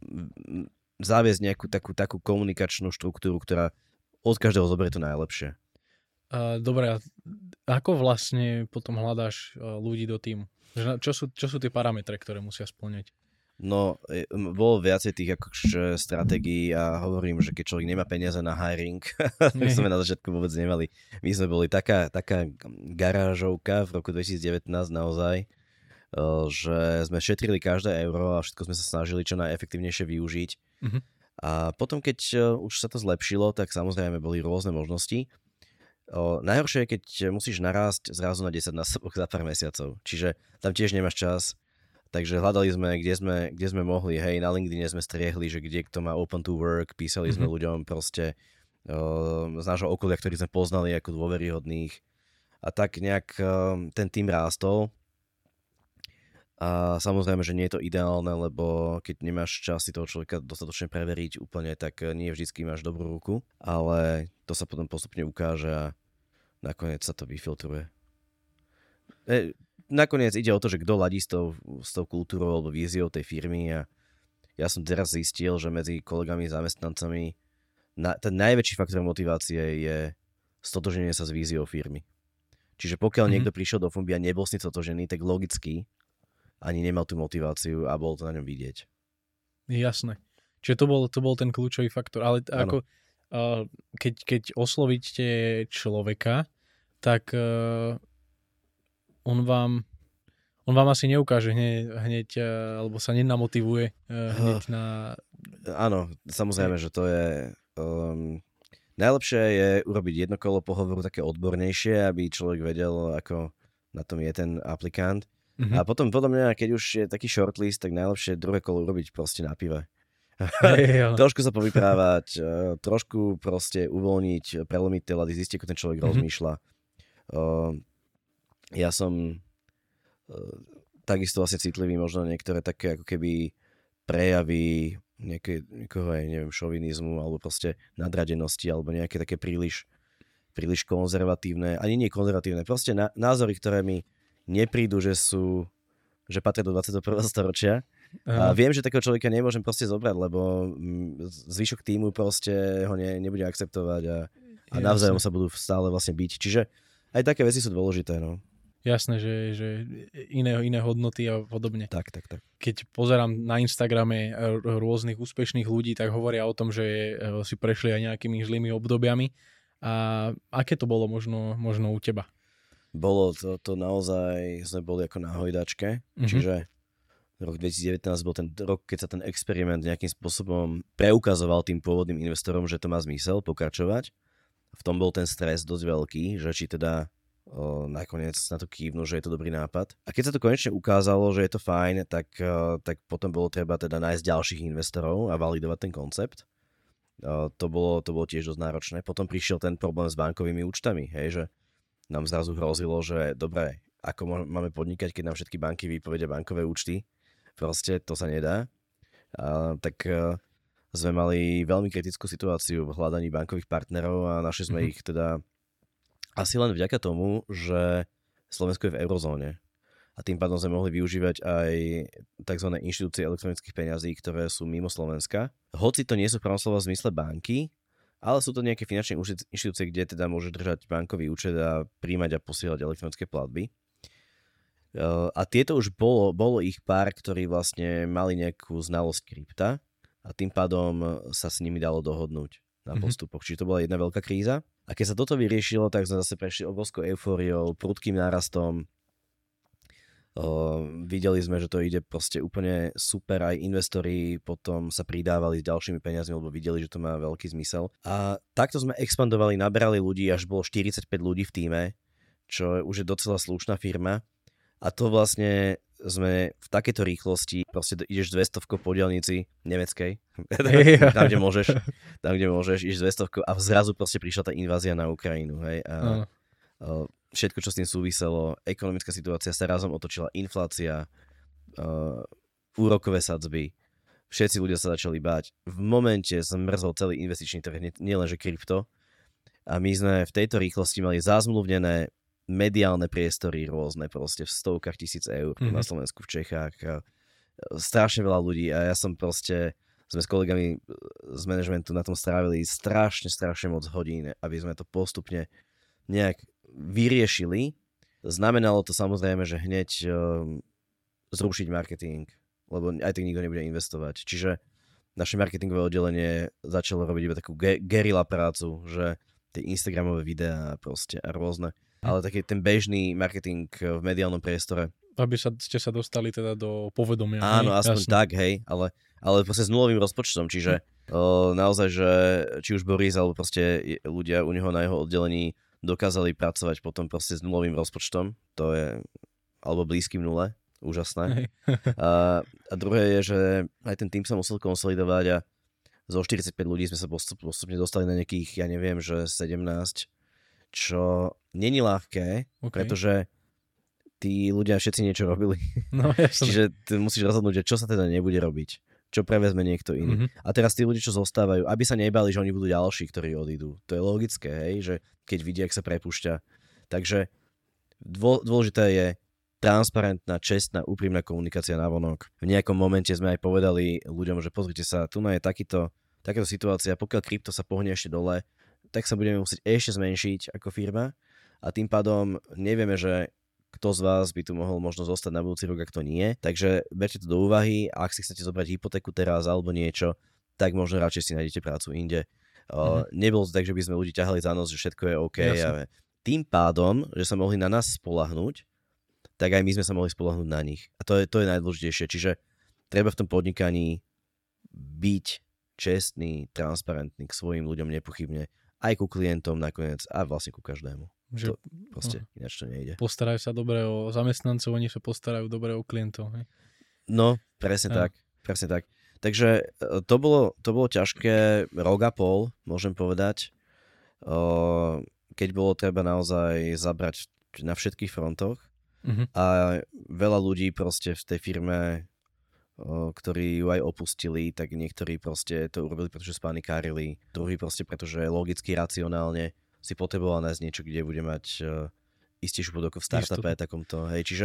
zaviesť nejakú takú, takú komunikačnú štruktúru, ktorá od každého zoberie to najlepšie. Uh, dobre, a ako vlastne potom hľadáš uh, ľudí do týmu? Čo sú, čo sú tie parametre, ktoré musia spĺňať? No, bolo viacej tých akože stratégií a hovorím, že keď človek nemá peniaze na hiring, tak sme na začiatku vôbec nemali. My sme boli taká, taká garážovka v roku dvetisícdevätnásť naozaj, že sme šetrili každé euro a všetko sme sa snažili čo najefektívnejšie využiť. Uh-huh. A potom, keď už sa to zlepšilo, tak samozrejme boli rôzne možnosti. O, najhoršie je, keď musíš narásť zrazu na desaťnásobok za pár mesiacov. Čiže tam tiež nemáš čas. Takže hľadali sme, kde sme, kde sme mohli. Hej, na LinkedIne sme striehli, že kde kto má open to work. Písali mm-hmm. sme ľuďom proste o, z nášho okolia, ktorých sme poznali ako dôveryhodných. A tak nejak o, ten tým rástol. A samozrejme, že nie je to ideálne, lebo keď nemáš čas si toho človeka dostatočne preveriť úplne, tak nie vždycky máš dobrú ruku. Ale to sa potom postupne ukáže a nakoniec sa to vyfiltruje. E, nakoniec ide o to, že kto ladí s tou, s tou kultúrou alebo víziou tej firmy a ja som teraz zistil, že medzi kolegami a zamestnancami na, ten najväčší faktor motivácie je stotožnenie sa s víziou firmy. Čiže pokiaľ mm-hmm. niekto prišiel do Fumby a nebol s ním stotožený, tak logicky ani nemal tú motiváciu a bol to na ňom vidieť. Jasné. Čiže to bol, to bol ten kľúčový faktor. Ale t- ako, uh, keď, keď oslovíte človeka, tak uh, on vám on vám asi neukáže hneď, hneď uh, alebo sa nenamotivuje uh, hneď uh, na... Áno, samozrejme, že to je... Um, najlepšie je urobiť jedno kolo pohovoru také odbornejšie, aby človek vedel, ako na tom je ten aplikant. Mm-hmm. A potom podľa mňa, keď už je taký shortlist, tak najlepšie druhé kolo urobiť proste na pive. Hey, trošku sa povyprávať, trošku proste uvoľniť, prelomiť tie lady, zistiť, ako ten človek mm-hmm. rozmýšľa. Ja som takisto vlastne citlivý možno niektoré také ako keby prejavy nejaké, niekoho aj, neviem, šovinizmu alebo proste nadradenosti alebo nejaké také príliš, príliš konzervatívne, ani nie konzervatívne, proste na, názory, ktoré mi neprídu, že sú, že patria do dvadsiateho prvého storočia. A viem, že takého človeka nemôžem proste zobrať, lebo zvyšok týmu proste ho ne, nebude akceptovať a, a navzájom sa budú stále vlastne byť. Čiže aj také veci sú dôležité, no. Jasné, že, že iné, iné hodnoty a podobne. Tak, tak, tak. Keď pozerám na Instagrame rôznych úspešných ľudí, tak hovoria o tom, že si prešli aj nejakými zlými obdobiami. A aké to bolo možno, možno u teba? Bolo to, to naozaj, sme boli ako na hojdačke, mm-hmm. čiže rok dvetisícdevätnásť bol ten rok, keď sa ten experiment nejakým spôsobom preukazoval tým pôvodným investorom, že to má zmysel pokračovať. V tom bol ten stres dosť veľký, že či teda O, nakoniec na to kývnu, že je to dobrý nápad. A keď sa to konečne ukázalo, že je to fajn, tak, o, tak potom bolo treba teda nájsť ďalších investorov a validovať ten koncept. O, to, bolo, to bolo tiež dosť náročné. Potom prišiel ten problém s bankovými účtami, hej, že nám zrazu hrozilo, že dobre, ako máme podnikať, keď nám všetky banky vypovedia bankové účty. Proste to sa nedá. A, tak o, sme mali veľmi kritickú situáciu v hľadaní bankových partnerov a našli sme mm-hmm. ich teda asi len vďaka tomu, že Slovensko je v eurozóne a tým pádom sme mohli využívať aj tzv. Inštitúcie elektronických peňazí, ktoré sú mimo Slovenska. Hoci to nie sú v pravom slova v zmysle banky, ale sú to nejaké finančné inštitúcie, kde teda môže držať bankový účet a príjmať a posielať elektronické platby. A tieto už bolo, bolo ich pár, ktorí vlastne mali nejakú znalosť krypta a tým pádom sa s nimi dalo dohodnúť na postupoch. Mm-hmm. Čiže to bola jedna veľká kríza. A keď sa toto vyriešilo, tak sme zase prešli obrovskou eufóriou, prudkým nárastom. O, videli sme, že to ide proste úplne super. Aj investori potom sa pridávali s ďalšími peniazmi, lebo videli, že to má veľký zmysel. A takto sme expandovali, naberali ľudí, až bolo štyridsaťpäť ľudí v tíme, čo už je docela slušná firma. A to vlastne sme v takejto rýchlosti, proste ideš dvestovkou po diaľnici nemeckej, tam, kde môžeš, tam, kde môžeš, ideš dvestovkou a zrazu proste prišla tá invázia na Ukrajinu, hej, a, a všetko, čo s tým súviselo, ekonomická situácia sa razom otočila, inflácia, uh, úrokové sadzby, všetci ľudia sa začali báť. V momente zmrzol celý investičný trh, nielenže krypto, a my sme v tejto rýchlosti mali zazmluvnené mediálne priestory rôzne, proste v stovkách tisíc eur mm-hmm. na Slovensku, v Čechách. A strašne veľa ľudí a ja som proste, sme s kolegami z manažmentu na tom strávili strašne, strašne moc hodín, aby sme to postupne nejak vyriešili. Znamenalo to samozrejme, že hneď um, zrušiť marketing, lebo aj tak nikto nebude investovať. Čiže naše marketingové oddelenie začalo robiť iba takú ge- gerila prácu, že tie Instagramové videá proste a rôzne. Ale taký ten bežný marketing v mediálnom priestore. Aby sa, ste sa dostali teda do povedomia. Áno, hej? Aspoň jasne. Tak, hej, ale, ale proste s nulovým rozpočtom, čiže o, naozaj, že či už Boris, alebo proste ľudia u neho na jeho oddelení dokázali pracovať potom proste s nulovým rozpočtom, to je, alebo blízkym nule, úžasné. A, a druhé je, že aj ten tým sa musel konsolidovať a zo štyridsaťpäť ľudí sme sa postupne dostali na nejakých, ja neviem, že sedemnásť, čo není ľahké, okay. Pretože tí ľudia všetci niečo robili. No, čiže ty musíš rozhodnúť, že čo sa teda nebude robiť, čo prevezme niekto iný. Mm-hmm. A teraz tí ľudia, čo zostávajú, aby sa nebali, že oni budú ďalší, ktorí odídu. To je logické, hej, že keď vidia, jak sa prepúšťa. Takže dôležité je transparentná, čestná, úprimná komunikácia navonok. V nejakom momente sme aj povedali ľuďom, že pozrite sa, tu je takýto, takáto situácia, pokiaľ krypto sa pohne ešte dole, tak sa budeme musieť ešte zmenšiť ako firma a tým pádom nevieme, že kto z vás by tu mohol možno zostať na budúci rok, ak to nie. Takže berte to do úvahy, ak si chcete zobrať hypotéku teraz alebo niečo, tak možno radšej si nájdete prácu inde. Mm-hmm. Nebolo to tak, že by sme ľudí ťahali za nos, že všetko je OK. A tým pádom, že sa mohli na nás spoľahnúť, tak aj my sme sa mohli spoľahnúť na nich. A to je, to je najdôležitejšie. Čiže treba v tom podnikaní byť čestný, transparentný k svojim ľuďom nepochybne aj ku klientom nakoniec a vlastne ku každému. Že, To proste no. Ináč to nejde. Postarajú sa dobre o zamestnancov, oni sa postarajú dobre o klientov. Hej? No, presne Áno. tak. Presne tak. Takže to bolo, to bolo ťažké rok a pol, môžem povedať. Keď bolo treba naozaj zabrať na všetkých frontoch. Uh-huh. A veľa ľudí proste v tej firme, ktorí ju aj opustili, tak niektorí proste to urobili, pretože spanikárili. Druhý proste, pretože logicky, racionálne si potreboval nájsť niečo, kde bude mať uh, istejšiu podobku v startupe takomto. Hej, čiže,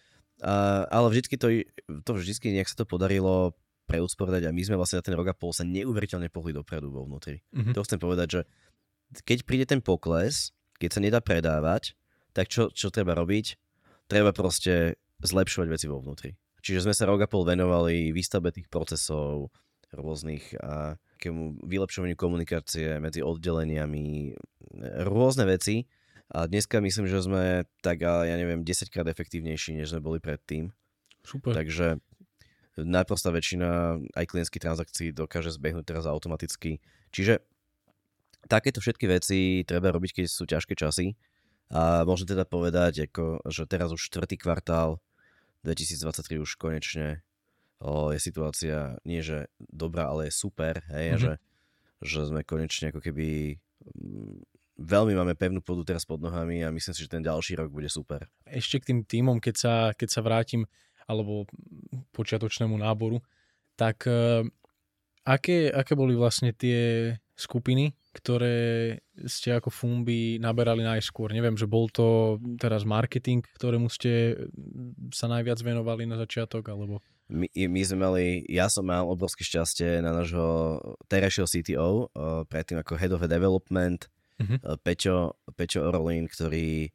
uh, ale vždycky to, to vždycky nejak sa to podarilo preusporiadať a my sme vlastne na ten rok a pol sa neuveriteľne pohli dopredu vo vnútri. Uh-huh. To chcem povedať, že keď príde ten pokles, keď sa nedá predávať, tak čo, čo treba robiť? Treba proste zlepšovať veci vo vnútri. Čiže sme sa rok a pol venovali výstavbe tých procesov rôznych a takému vylepšovaniu komunikácie medzi oddeleniami, rôzne veci. A dneska myslím, že sme tak, ja neviem, desaťkrát efektívnejší, než sme boli predtým. Super. Takže najprostá väčšina aj klientských transakcií dokáže zbehnúť teraz automaticky. Čiže takéto všetky veci treba robiť, keď sú ťažké časy. A môžem teda povedať, ako, že teraz už štvrtý kvartál dvetisícdvadsaťtri už konečne o, je situácia nie že dobrá, ale je super, hej, mm-hmm. že, že sme konečne ako keby m, veľmi máme pevnú pôdu teraz pod nohami a myslím si, že ten ďalší rok bude super. Ešte k tým tímom, keď sa, keď sa vrátim, alebo počiatočnému náboru, tak uh, aké, aké boli vlastne tie skupiny, ktoré ste ako Fumbi naberali najskôr? Neviem, že bol to teraz marketing, ktorému ste sa najviac venovali na začiatok, alebo... My, my sme mali, ja som mal obrovské šťastie na nášho terajšieho C T O, uh, predtým ako Head of Development, uh-huh. uh, Peťo, Peťo Orolín, ktorý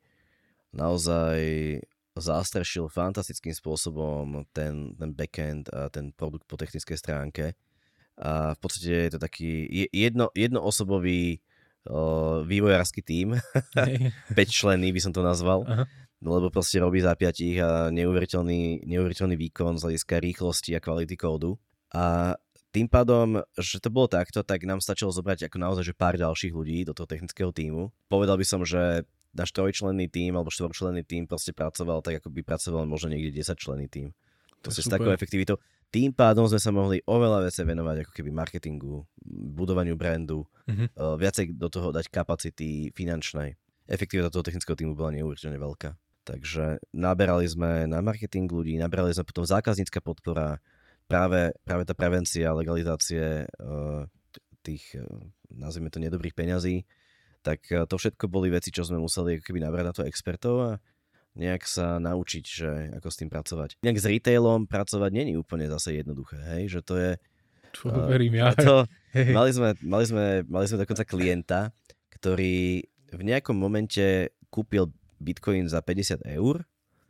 naozaj zastrešil fantastickým spôsobom ten, ten backend a ten produkt po technickej stránke. A v podstate je to taký jedno, jednoosobový uh, vývojársky tím, päťčlenný by som to nazval, uh-huh. lebo proste robí za piatich a neuveriteľný, neuveriteľný výkon z hľadiska rýchlosti a kvality kódu. A tým pádom, že to bolo takto, tak nám stačilo zobrať ako naozaj že pár ďalších ľudí do toho technického tímu. Povedal by som, že náš trojčlenný tím alebo štvorčlenný tím proste pracoval tak, ako by pracoval možno niekde desaťčlenný tím. Proste s takou efektivitou. Tým pádom sme sa mohli oveľa viacej venovať ako keby marketingu, budovaniu brandu, mm-hmm. uh, viacej do toho dať kapacity finančnej. Efektivita toho technického týmu bola neuveriteľne veľká. Takže naberali sme na marketing ľudí, naberali sme potom zákaznícka podpora, práve, práve tá prevencia, legalizácie uh, tých, uh, nazvime to, nedobrých peňazí. Tak uh, to všetko boli veci, čo sme museli ako keby nabrať na to expertov a nejak sa naučiť, že ako s tým pracovať. Nejak s retailom pracovať není úplne zase jednoduché, hej, že to je... Čo uh, verím ja. To, mali, sme, mali, sme, mali sme dokonca klienta, ktorý v nejakom momente kúpil Bitcoin za päťdesiat eur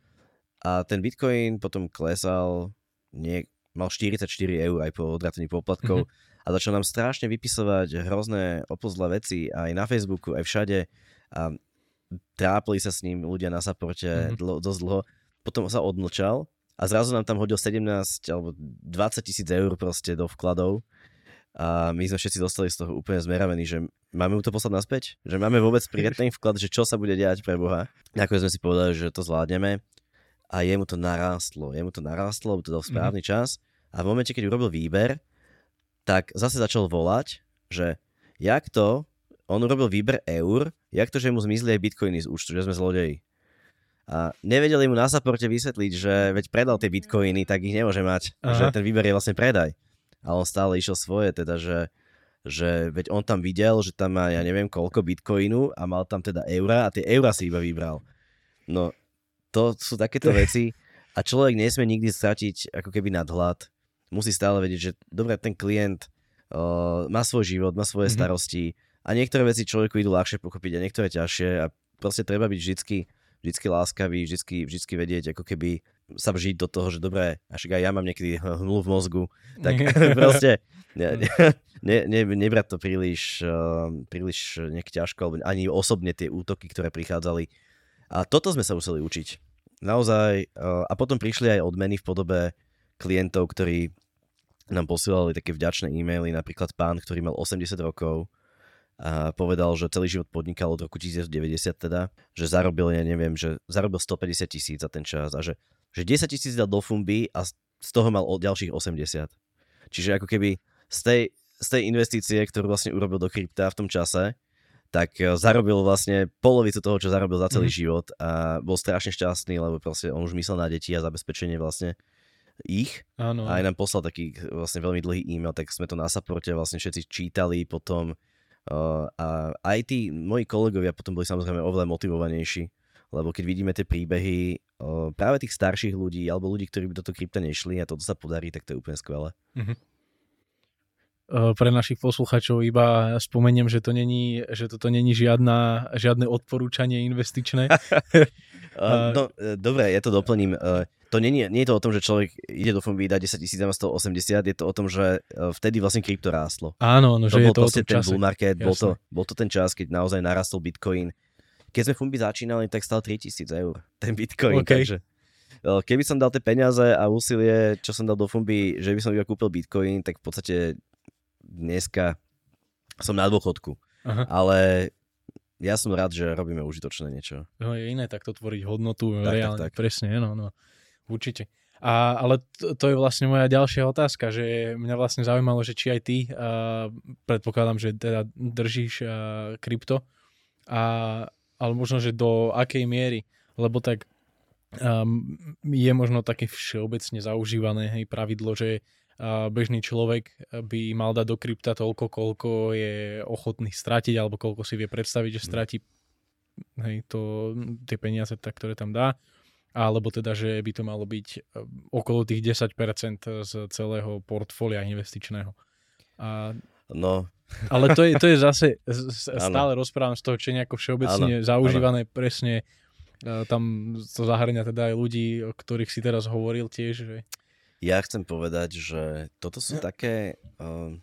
a ten Bitcoin potom klesal, nie, mal štyridsaťštyri eur aj po odrátení poplatkov mm-hmm. a začal nám strašne vypisovať hrozné opozlé veci aj na Facebooku, aj všade a trápili sa s ním ľudia na supporte mm-hmm. dlho, dosť dlho. Potom sa odmlčal a zrazu nám tam hodil sedemnásť alebo dvadsať tisíc eur proste do vkladov a my sme všetci dostali z toho úplne zmeravení, že máme mu to poslať naspäť? Že máme vôbec prijať ten vklad, že čo sa bude diať pre Boha? Nakoniec sme si povedali, že to zvládneme a jemu to narástlo. Jemu to narástlo, to dal správny mm-hmm. čas a v momente, keď urobil výber, tak zase začal volať, že jak to on urobil výber eur, jak to, že mu zmizli aj bitcoiny z účtu, že sme zlodeji. A nevedeli mu na supporte vysvetliť, že veď predal tie bitcoiny, tak ich nemôže mať. Aha. Že ten výber je vlastne predaj. A on stále išiel svoje, teda, že, že veď on tam videl, že tam má, ja neviem koľko bitcoinu a mal tam teda eura a tie eura si iba vybral. No, to sú takéto veci a človek nesmie nikdy stratiť ako keby nadhľad. Musí stále vedieť, že dobre, ten klient uh, má svoj život, má svoje mm-hmm. starosti. A niektoré veci človeku idú ľahšie pochopiť a niektoré ťažšie a proste treba byť vždycky, vždycky láskavý, vždycky, vždycky vedieť, ako keby sa vžiť do toho, že dobré, až aj ja mám niekedy hmlu v mozgu, tak proste ne, ne, ne, nebrať to príliš, uh, príliš nejak ťažko, alebo ani osobne tie útoky, ktoré prichádzali. A toto sme sa museli učiť. Naozaj. Uh, a potom prišli aj odmeny v podobe klientov, ktorí nám posielali také vďačné e-maily, napríklad pán, ktorý mal osemdesiat rokov, a povedal, že celý život podnikal od roku devätnásťstodeväťdesiat teda, že zarobil, ja neviem, že zarobil stopäťdesiat tisíc za ten čas a že, že desať tisíc dal do fumby a z toho mal ďalších osemdesiat. Čiže ako keby z tej, z tej investície, ktorú vlastne urobil do krypta v tom čase, tak zarobil vlastne polovicu toho, čo zarobil za celý mm. život a bol strašne šťastný, lebo proste on už myslel na deti a zabezpečenie vlastne ich. Áno. A aj nám poslal taký vlastne veľmi dlhý e-mail, tak sme to na supporte vlastne všetci čítali potom uh, a aj tí moji kolegovia potom boli samozrejme oveľa motivovanejší, lebo keď vidíme tie príbehy uh, práve tých starších ľudí alebo ľudí, ktorí by do toho krypta nešli a toto sa podarí, tak to je úplne skvelé. Mhm. Pre našich posluchačov iba spomeniem, že to není, že toto není žiadna, žiadne odporúčanie investičné. uh, no, dobre, ja to doplním. Uh, To nie, nie, nie je to o tom, že človek ide do fumby, dá desať tisíc na sto osemdesiat, je to o tom, že vtedy vlastne krypto rástlo. Áno, no, to že je bol to o tom ten čase. bull market, bol to, bol to ten čas, keď naozaj narastol Bitcoin. Keď sme fumby začínali, tak stal tritisíc eur ten Bitcoin, okay. takže keby som dal tie peniaze a úsilie, čo som dal do fumby, že by som iba kúpil Bitcoin, tak v podstate dneska som na dôchodku. Aha. Ale ja som rád, že robíme užitočné niečo. No je iné takto tvoriť hodnotu, tak, reálne, tak, tak. presne, no, no. Určite. A, ale to, to je vlastne moja ďalšia otázka, že mňa vlastne zaujímalo, že či aj ty, uh, predpokladám, že teda držíš uh, krypto, a, ale možno, že do akej miery, lebo tak um, je možno také všeobecne zaužívané hej, pravidlo, že uh, bežný človek by mal dať do krypta toľko, koľko je ochotný stratiť, alebo koľko si vie predstaviť, že stratí hej, to, tie peniaze, tak, ktoré tam dá. Alebo teda, že by to malo byť okolo tých desať percent z celého portfólia investičného. A, no. Ale to je, to je zase, stále rozprávam z toho, čo je nejako všeobecne ano, zaužívané, ano. Presne tam to zahrňa teda aj ľudí, o ktorých si teraz hovoril tiež. Že... Ja chcem povedať, že toto sú také, um,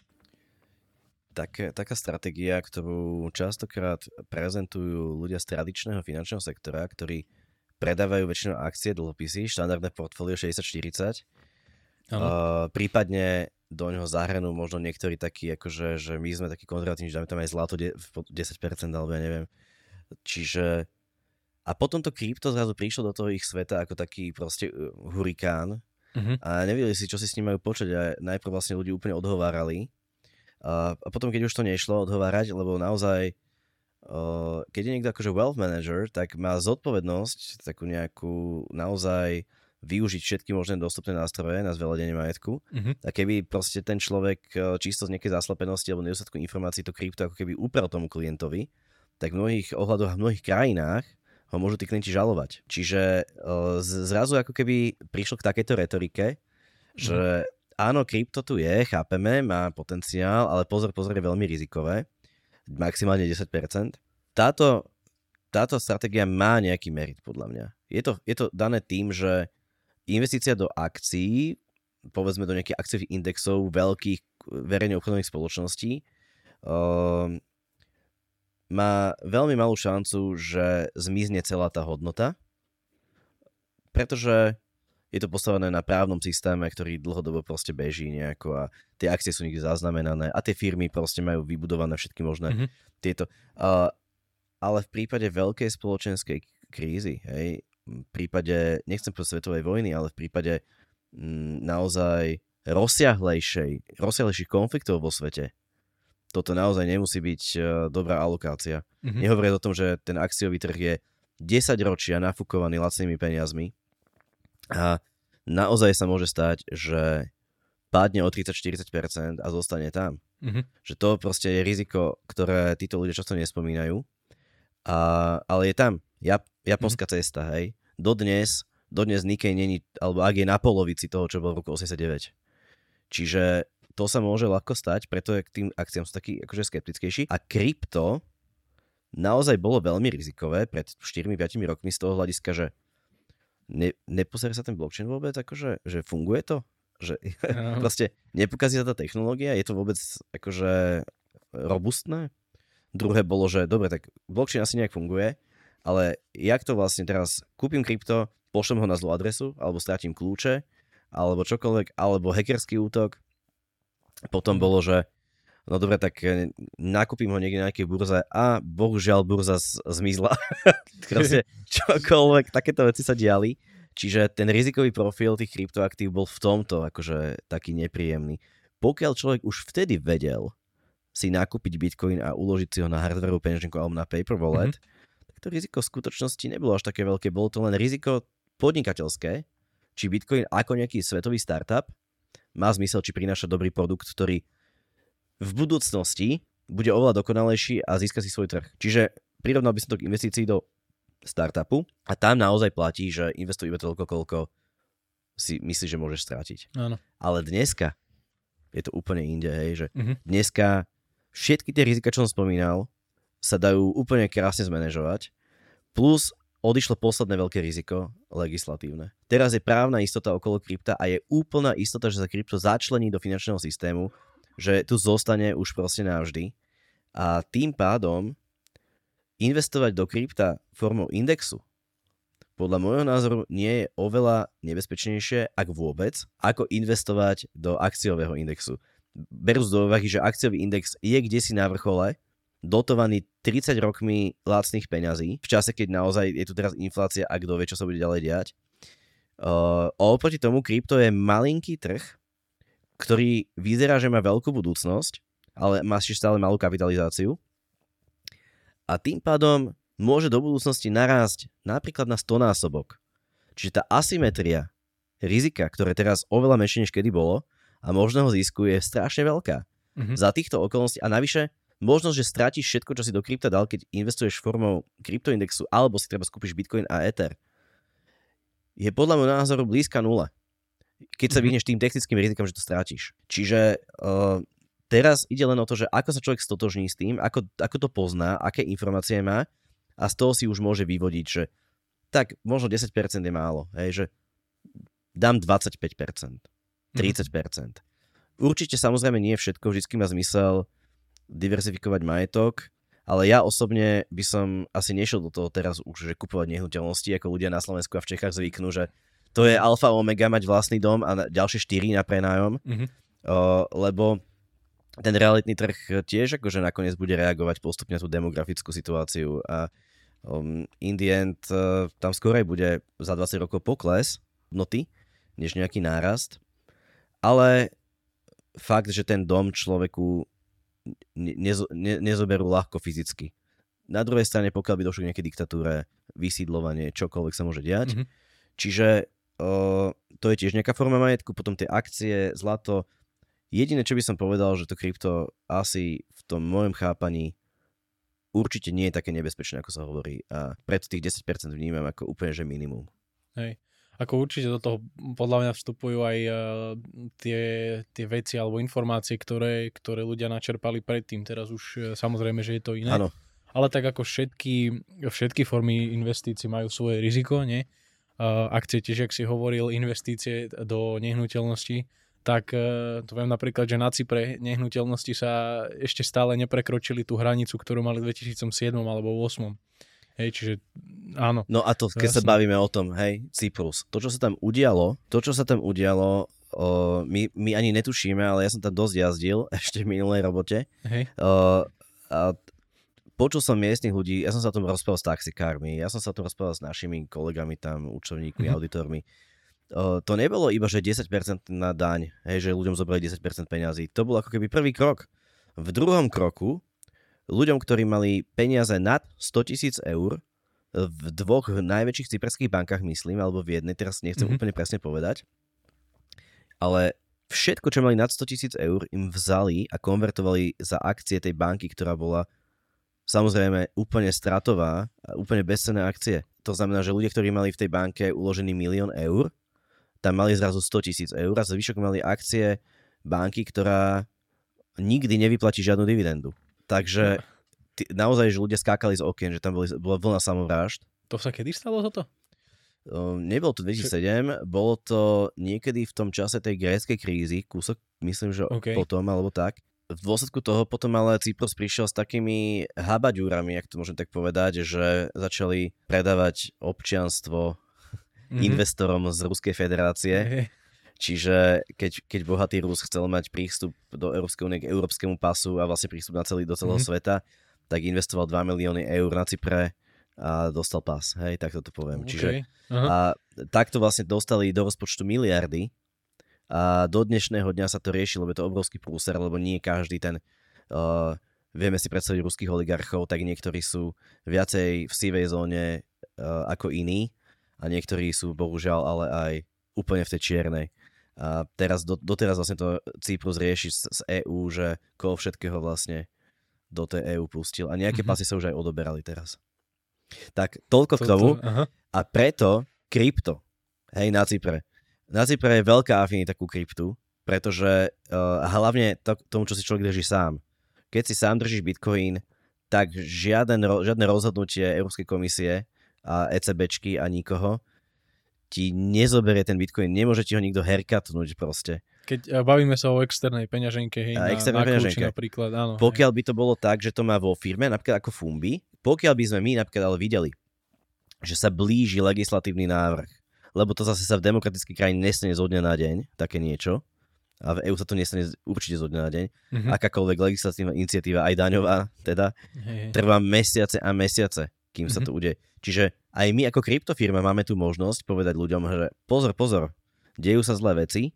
také taká stratégia, ktorú častokrát prezentujú ľudia z tradičného finančného sektora, ktorí predávajú väčšinou akcie, dlhopisy, štandardné portfólio šesťdesiat štyridsať. Uh, prípadne do ňoho zahrnú možno niektorí takí, akože, že my sme takí konzervatívni, že dáme tam aj zlato de- desať percent, alebo ja neviem. Čiže a potom to krypto zrazu prišlo do toho ich sveta ako taký proste hurikán uh-huh. a nevedeli si, čo si s ním majú počať a najprv vlastne ľudí úplne odhovárali. Uh, a potom, keď už to nešlo odhovárať, lebo naozaj Uh, keď je niekto akože wealth manager, tak má zodpovednosť takú nejakú naozaj využiť všetky možné dostupné nástroje na zveľadenie majetku. Uh-huh. A keby proste ten človek čisto z nejakej zaslepenosti alebo nedostatku informácií to krypto ako keby uprel tomu klientovi, tak v mnohých ohľadoch a v mnohých krajinách ho môžu tí klienti žalovať. Čiže uh, zrazu ako keby prišlo k takejto retorike, že uh-huh. áno, krypto tu je, chápeme, má potenciál, ale pozor, pozor, je veľmi rizikové. Maximálne desať percent. Táto, táto stratégia má nejaký merit, podľa mňa. Je to, je to dané tým, že investícia do akcií, povedzme do nejakých akciových indexov veľkých verejne obchodných spoločností, um, má veľmi malú šancu, že zmizne celá tá hodnota, pretože je to postavené na právnom systéme, ktorý dlhodobo proste beží nejako a tie akcie sú niekde zaznamenané a tie firmy proste majú vybudované všetky možné mm-hmm. tieto. Uh, ale v prípade veľkej spoločenskej krízy, hej, v prípade, nechcem povedať svetovej vojny, ale v prípade m, naozaj rozsiahlejšej, rozsiahlejších konfliktov vo svete, toto naozaj nemusí byť uh, dobrá alokácia. Mm-hmm. Nehovoriac o tom, že ten akciový trh je desať ročia nafúkovaný lacnými peniazmi, a naozaj sa môže stať, že padne o tridsať až štyridsať percent a zostane tam. Mm-hmm. Že to proste je riziko, ktoré títo ľudia často nespomínajú. A, ale je tam. Jap, japonská mm-hmm. cesta, hej. Dodnes, dodnes Nikkei není, alebo ak je na polovici toho, čo bolo v roku osemdesiatdeväť. Čiže to sa môže ľahko stať, preto je k tým akciám sú takí akože skeptickejší. A krypto naozaj bolo veľmi rizikové pred štyri až päť rokmi z toho hľadiska, že Ne, nepozerá sa ten blockchain vôbec, akože, že funguje to? Že no. Proste nepokazí sa tá technológia? Je to vôbec akože robustné? Druhé bolo, že dobre, tak blockchain asi nejak funguje, ale jak to vlastne teraz kúpim krypto, pošlem ho na zlú adresu, alebo stratím kľúče, alebo čokoľvek, alebo hackerský útok. Potom bolo, že no dobre, tak nakúpim ho niekde na nejakej burze a bohužiaľ burza z- zmizla. Proste čokoľvek, takéto veci sa diali. Čiže ten rizikový profil tých kryptoaktív bol v tomto akože taký nepríjemný. Pokiaľ človek už vtedy vedel si nakúpiť Bitcoin a uložiť si ho na hardwareovú peňaženku alebo na paper wallet, mm-hmm. tak to riziko v skutočnosti nebolo až také veľké. Bolo to len riziko podnikateľské, či Bitcoin ako nejaký svetový startup má zmysel, či prináša dobrý produkt, ktorý v budúcnosti bude oveľa dokonalejší a získa si svoj trh. Čiže prirovnal by som to k investícii do startupu a tam naozaj platí, že investuj iba toľko, koľko si myslíš, že môžeš strátiť. Áno. Ale dneska je to úplne inde, hej, že Mhm. dneska všetky tie rizika, čo som spomínal, sa dajú úplne krásne zmanéžovať, plus odišlo posledné veľké riziko, legislatívne. Teraz je právna istota okolo krypta a je úplná istota, že sa krypto začlení do finančného systému, že tu zostane už proste navždy. A tým pádom investovať do krypta formou indexu podľa môjho názoru nie je oveľa nebezpečnejšie, ak vôbec, ako investovať do akciového indexu. Berú z do úvahy, že akciový index je kdesi na vrchole, dotovaný tridsať rokmi lacných peňazí, v čase, keď naozaj je tu teraz inflácia a kto vie, čo sa bude ďalej diať. Uh, oproti tomu krypto je malinký trh, ktorý vyzerá, že má veľkú budúcnosť, ale má ešte stále malú kapitalizáciu. A tým pádom môže do budúcnosti narásť napríklad na stonásobok. Čiže tá asymetria rizika, ktoré teraz oveľa menšie než kedy bolo a možného zisku je strašne veľká. Mhm. Za týchto okolností a navyše možnosť, že stratíš všetko, čo si do krypta dal, keď investuješ formou kryptoindexu alebo si treba skúpiš Bitcoin a Ether, je podľa môjho názoru blízka nula. Keď sa vyhneš tým technickým rizikom, že to strátiš. Čiže uh, teraz ide len o to, že ako sa človek stotožní s tým, ako, ako to pozná, aké informácie má a z toho si už môže vyvodiť, že tak možno desať percent je málo, hej, že dám dvadsaťpäť percent, tridsať percent. Určite samozrejme nie všetko, vždycky má zmysel diverzifikovať majetok, ale ja osobne by som asi nešiel do toho teraz už, že kupovať nehnuteľnosti, ako ľudia na Slovensku a v Čechách zvyknú, že to je alfa omega mať vlastný dom a na, ďalšie štyri na prenájom, mm-hmm. uh, lebo ten realitný trh tiež akože nakoniec bude reagovať postupne na tú demografickú situáciu a um, in the end uh, tam skorej bude za dvadsať rokov pokles hodnoty, než nejaký nárast, ale fakt, že ten dom človeku Nezo, ne, nezoberú ľahko fyzicky. Na druhej strane, pokiaľ by došlo k nejakej diktatúre, vysídlovanie, čokoľvek sa môže diať. Mm-hmm. Čiže uh, to je tiež nejaká forma majetku, potom tie akcie, zlato. Jediné, čo by som povedal, že to krypto asi v tom môjom chápaní určite nie je také nebezpečné, ako sa hovorí. A preto tých desať percent vnímam ako úplne, že minimum. Hej. Ako určite do toho podľa mňa vstupujú aj uh, tie, tie veci alebo informácie, ktoré, ktoré ľudia načerpali predtým. Teraz už uh, samozrejme, že je to iné. Áno. Ale tak ako všetky, všetky formy investícií majú svoje riziko, nie? Uh, akcie tiež, ak si hovoril, investície do nehnuteľnosti, tak uh, to viem napríklad, že na Cypre nehnuteľnosti sa ešte stále neprekročili tú hranicu, ktorú mali v dvetisícsedem alebo dvetisícosem. Hej, čiže áno. No a to, keď jasne. Sa bavíme o tom, hej, Cyprus, to, čo sa tam udialo, to, čo sa tam udialo, o, my, my ani netušíme, ale ja som tam dosť jazdil ešte v minulej robote. Hej. O, a počul som miestnych ľudí, ja som sa o tom rozprával s taxikármi, ja som sa o tom rozprával s našimi kolegami tam, účtovníkmi, mm-hmm. auditormi. O, to nebolo iba, že desať percent na daň, hej, že ľuďom zobrali desať percent peňazí. To bol ako keby prvý krok. V druhom kroku ľuďom, ktorí mali peniaze nad stotisíc eur v dvoch najväčších cyperských bankách, myslím, alebo v jednej, teraz nechcem mm-hmm. úplne presne povedať, ale všetko, čo mali nad stotisíc eur, im vzali a konvertovali za akcie tej banky, ktorá bola samozrejme úplne stratová a úplne bezcenné akcie. To znamená, že ľudia, ktorí mali v tej banke uložený milión eur, tam mali zrazu stotisíc eur a zvyšok mali akcie banky, ktorá nikdy nevyplatí žiadnu dividendu. Takže t- naozaj, že ľudia skákali z okien, že tam boli, bola vlna samovrážd. To sa kedy stalo toto? Um, nebolo to dvetisícsedem, Č- bolo to niekedy v tom čase tej gréckej krízy, kúsok, myslím, že okay. potom, alebo tak. V dôsledku toho potom ale Cyprus prišiel s takými habaďúrami, ak to môžem tak povedať, že začali predávať občianstvo mm-hmm. investorom z Ruskej federácie. Okay. Čiže keď, keď bohatý Rus chcel mať prístup do Európskej únie k európskemu pasu a vlastne prístup na celý, do celého mm. sveta, tak investoval dva milióny eur na Cypre a dostal pas. Hej, tak to poviem. Okay. Čiže a takto vlastne dostali do rozpočtu miliardy a do dnešného dňa sa to rieši, lebo je to obrovský prúser, lebo nie každý ten... Uh, vieme si predstaviť ruských oligarchov, tak niektorí sú viacej v sivej zóne uh, ako iní a niektorí sú bohužiaľ ale aj úplne v tej čiernej. A teraz, do, doteraz vlastne to Cyprus rieši z, z é ú, že koho všetkého vlastne do tej é ú pustil a nejaké mm-hmm. pasy sa už aj odoberali teraz. Tak toľko k tomu aha. A preto krypto, hej, na Cypre. Na Cypre je veľká afinita ku kryptu, pretože uh, hlavne to, tomu, čo si človek drží sám. Keď si sám držíš Bitcoin, tak žiaden, žiadne rozhodnutie Európskej komisie a ECBčky a nikoho ti nezoberie ten Bitcoin. Nemôže ti ho nikto haircutnúť proste. Keď bavíme sa o externej peňaženke, hej, a na, externej na peňaženke. kľúči napríklad, áno. Pokiaľ hej. by to bolo tak, že to má vo firme, napríklad ako Fumbi, pokiaľ by sme my napríklad ale videli, že sa blíži legislatívny návrh, lebo to zase sa v demokratickej krajine nestane zo dňa na deň, také niečo, a v é ú sa to nestane určite zo dňa na deň. Mm-hmm. Akákoľvek legislatívna iniciatíva, aj daňová, teda, hey. trvá mesiace a mesiace, kým mm-hmm. sa to udeje. Čiže aj my ako kryptofirma máme tu možnosť povedať ľuďom, že pozor, pozor, dejú sa zlé veci,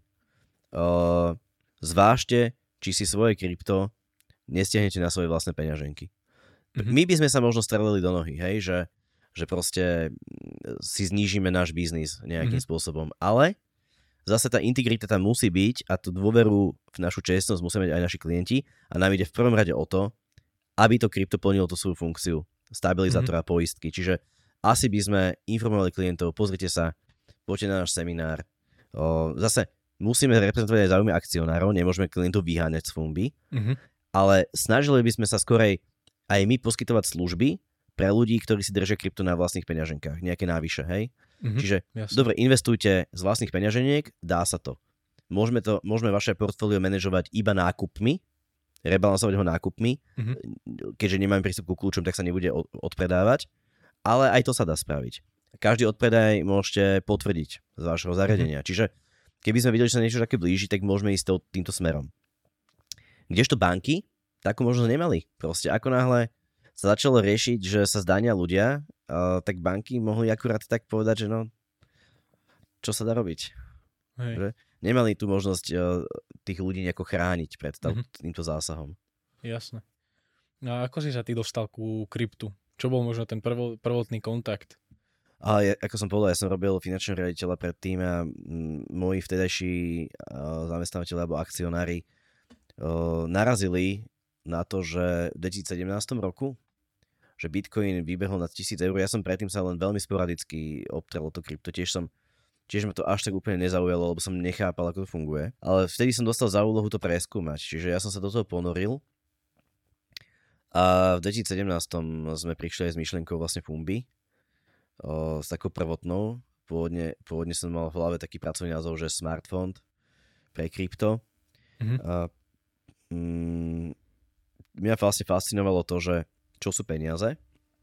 uh, zvážte, či si svoje krypto nestiahnete na svoje vlastné peňaženky. Mm-hmm. My by sme sa možno strelili do nohy, hej, že, že proste si znížime náš biznis nejakým mm-hmm. spôsobom, ale zase tá integrita tam musí byť a tú dôveru v našu čestnosť musia mať aj naši klienti a nám ide v prvom rade o to, aby to krypto plnilo tú svoju funkciu stabilizátora mm-hmm. poistky. Čiže asi by sme informovali klientov, pozrite sa, poďte na náš seminár. O, zase musíme reprezentovať aj záujmy akcionárov, nemôžeme klientov vyháňať z Fumbi, mm-hmm. ale snažili by sme sa skorej aj my poskytovať služby pre ľudí, ktorí si držia krypto na vlastných peňaženkách, nejaké návyše, hej? Mm-hmm, Čiže, jasne. dobre, investujte z vlastných peňaženiek, dá sa to. Môžeme, to, môžeme vaše portfólio manažovať iba nákupmi, rebalansovať ho nákupmi, mm-hmm. keďže nemáme prístup ku kľúčom, tak sa nebude odpredávať, ale aj to sa dá spraviť. Každý odpredaj môžete potvrdiť z vašho zariadenia. Mm-hmm. Čiže, keby sme videli, že sa niečo také blíži, tak môžeme ísť týmto smerom. Kdežto banky takú možnosť nemali. Proste ako náhle sa začalo riešiť, že sa zdania ľudia, uh, tak banky mohli akurát tak povedať, že no, čo sa dá robiť. Hej. Že nemali tú možnosť uh, tých ľudí nejako chrániť pred tá, mm-hmm. týmto zásahom. Jasné. A ako si sa ty dostal ku kryptu? Čo bol možno ten prvo, prvotný kontakt? A ja, ako som povedal, ja som robil finančného riaditeľa predtým a m, moji vtedajší uh, zamestnávateľi alebo akcionári uh, narazili na to, že v dvetisícsedemnástom roku že Bitcoin vybehol na tisíc eur. Ja som predtým sa len veľmi sporadicky obtrel to krypto. Tiež som, tiež ma to až tak úplne nezaujalo, lebo som nechápal, ako to funguje. Ale vtedy som dostal za úlohu to preskúmať. Čiže ja som sa do toho ponoril. A v dvetisícsedemnástom sme prišli aj s myšlienkou vlastne Fumbi. O, s takou prvotnou. Pôvodne, pôvodne som mal v hlave taký pracovný názov, že Smartfond pre krypto. Mm-hmm. A, mm, mňa vlastne fascinovalo to, že čo sú peniaze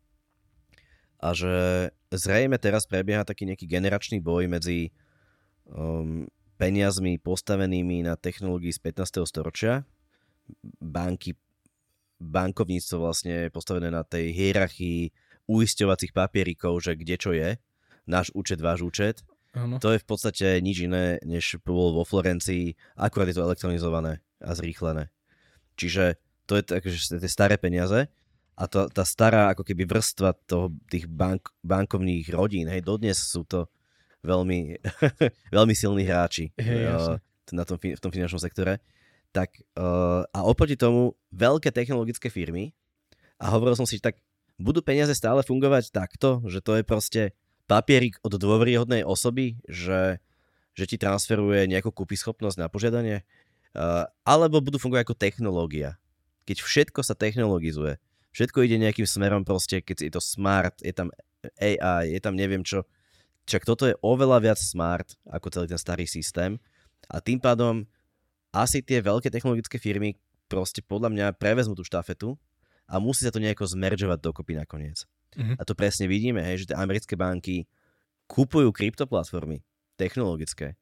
a že zrejme teraz prebieha taký nejaký generačný boj medzi um, peniazmi postavenými na technológii z pätnásteho storočia, banky, bankovníctvo vlastne postavené na tej hierarchii uisťovacích papierikov, že kde čo je, náš účet, váš účet. Ano. To je v podstate nič iné, než bolo vo Florencii, akurát je to elektronizované a zrýchlené. Čiže to je takže tie staré peniaze. A to, tá stará ako keby vrstva toho, tých bank, bankovných rodín, hej, dodnes sú to veľmi, veľmi silní hráči hey, uh, na tom, v tom finančnom sektore. Tak, uh, a oproti tomu veľké technologické firmy, a hovoril som si, že tak budú peniaze stále fungovať takto, že to je proste papierik od dôveryhodnej osoby, že, že ti transferuje nejakú kúpyschopnosť na požiadanie, uh, alebo budú fungovať ako technológia. Keď všetko sa technologizuje, všetko ide nejakým smerom proste, keď je to smart, je tam á í, je tam neviem čo. Čak toto je oveľa viac smart ako celý ten starý systém a tým pádom asi tie veľké technologické firmy proste podľa mňa prevezmú tú štafetu a musí sa to nejako zmeržovať dokopy nakoniec. Mm-hmm. A to presne vidíme, hej, že tie americké banky kupujú kryptoplatformy technologické.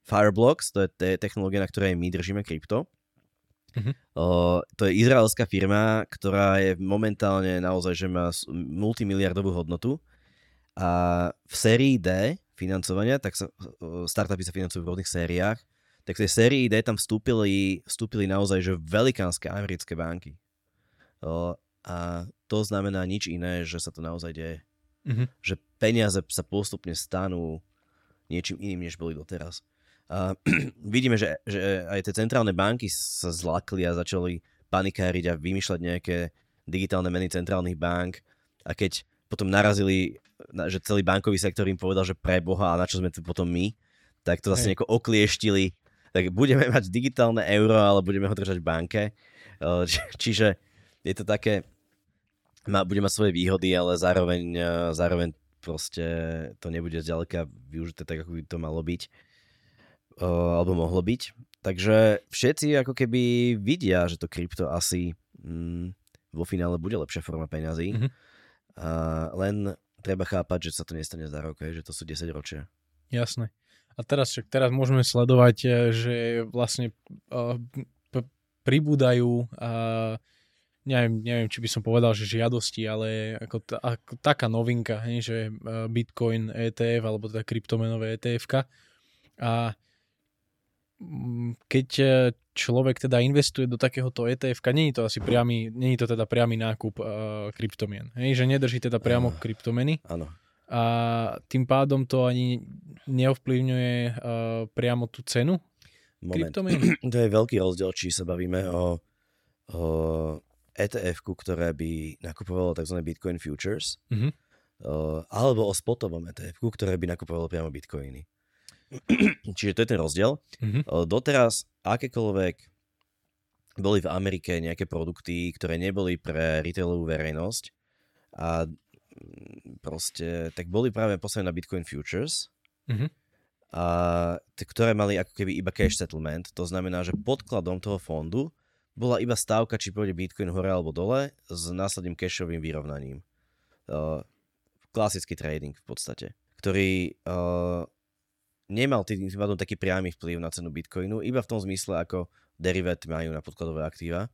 Fireblocks, to je te- technológia, na ktorej my držíme krypto. Mhm. Uh, to je izraelská firma, ktorá je momentálne naozaj, že má s- multimiliardovú hodnotu a v sérii D financovania, tak sa, uh, startupy sa financujú v rôznych sériách, tak v tej sérii D tam vstúpili, vstúpili naozaj, že velikánske americké banky. Uh, a to znamená nič iné, že sa to naozaj deje. Mhm. Že peniaze sa postupne stanú niečím iným, než boli doteraz. A vidíme, že, že aj tie centrálne banky sa zlakli a začali panikáriť a vymýšľať nejaké digitálne meny centrálnych bank a keď potom narazili, že celý bankový sektor im povedal, že pre Boha a na čo sme tu potom my, tak to zase Hej. nejako oklieštili. Tak budeme mať digitálne euro, ale budeme ho držať v banke. Či, čiže je to také, má, bude mať svoje výhody, ale zároveň, zároveň proste to nebude zďaleka využité tak, ako by to malo byť. Uh, alebo mohlo byť. Takže všetci ako keby vidia, že to krypto asi mm, vo finále bude lepšia forma peňazí. Mhm. Uh, len treba chápať, že sa to nestane za rok, že to sú desať ročia. Jasné. A teraz však teraz môžeme sledovať, eh, že vlastne uh, p- pribúdajú uh, neviem, neviem, či by som povedal, že žiadosti, ale ako, t- ako taká novinka, hej, že uh, Bitcoin é té ef alebo teda kryptomenové é té efka. A keď človek teda investuje do takéhoto é té efka, nie je to asi priamy, nie je to teda priamy nákup uh, kryptomien. Hej, že nedrží teda priamo Áno. kryptomeny Áno. a tým pádom to ani neovplyvňuje uh, priamo tú cenu Moment. kryptomien. To je veľký rozdiel, či sa bavíme o, o é té efku, ktoré by nakupovalo tzv. Bitcoin futures, Mhm. o, alebo o spotovom é té efku, ktoré by nakupovalo priamo bitcoiny. Čiže to je ten rozdiel. Mhm. O, doteraz akékoľvek boli v Amerike nejaké produkty, ktoré neboli pre retailovú verejnosť a mm, proste, tak boli práve postavené na Bitcoin futures, Mhm. a t- ktoré mali ako keby iba cash settlement. To znamená, že podkladom toho fondu bola iba stávka, či pôjde Bitcoin hore alebo dole s následným cashovým vyrovnaním. Uh, klasický trading v podstate, ktorý uh, nemal tým pádom taký priamy vplyv na cenu Bitcoinu, iba v tom zmysle, ako deriváty majú na podkladové aktíva.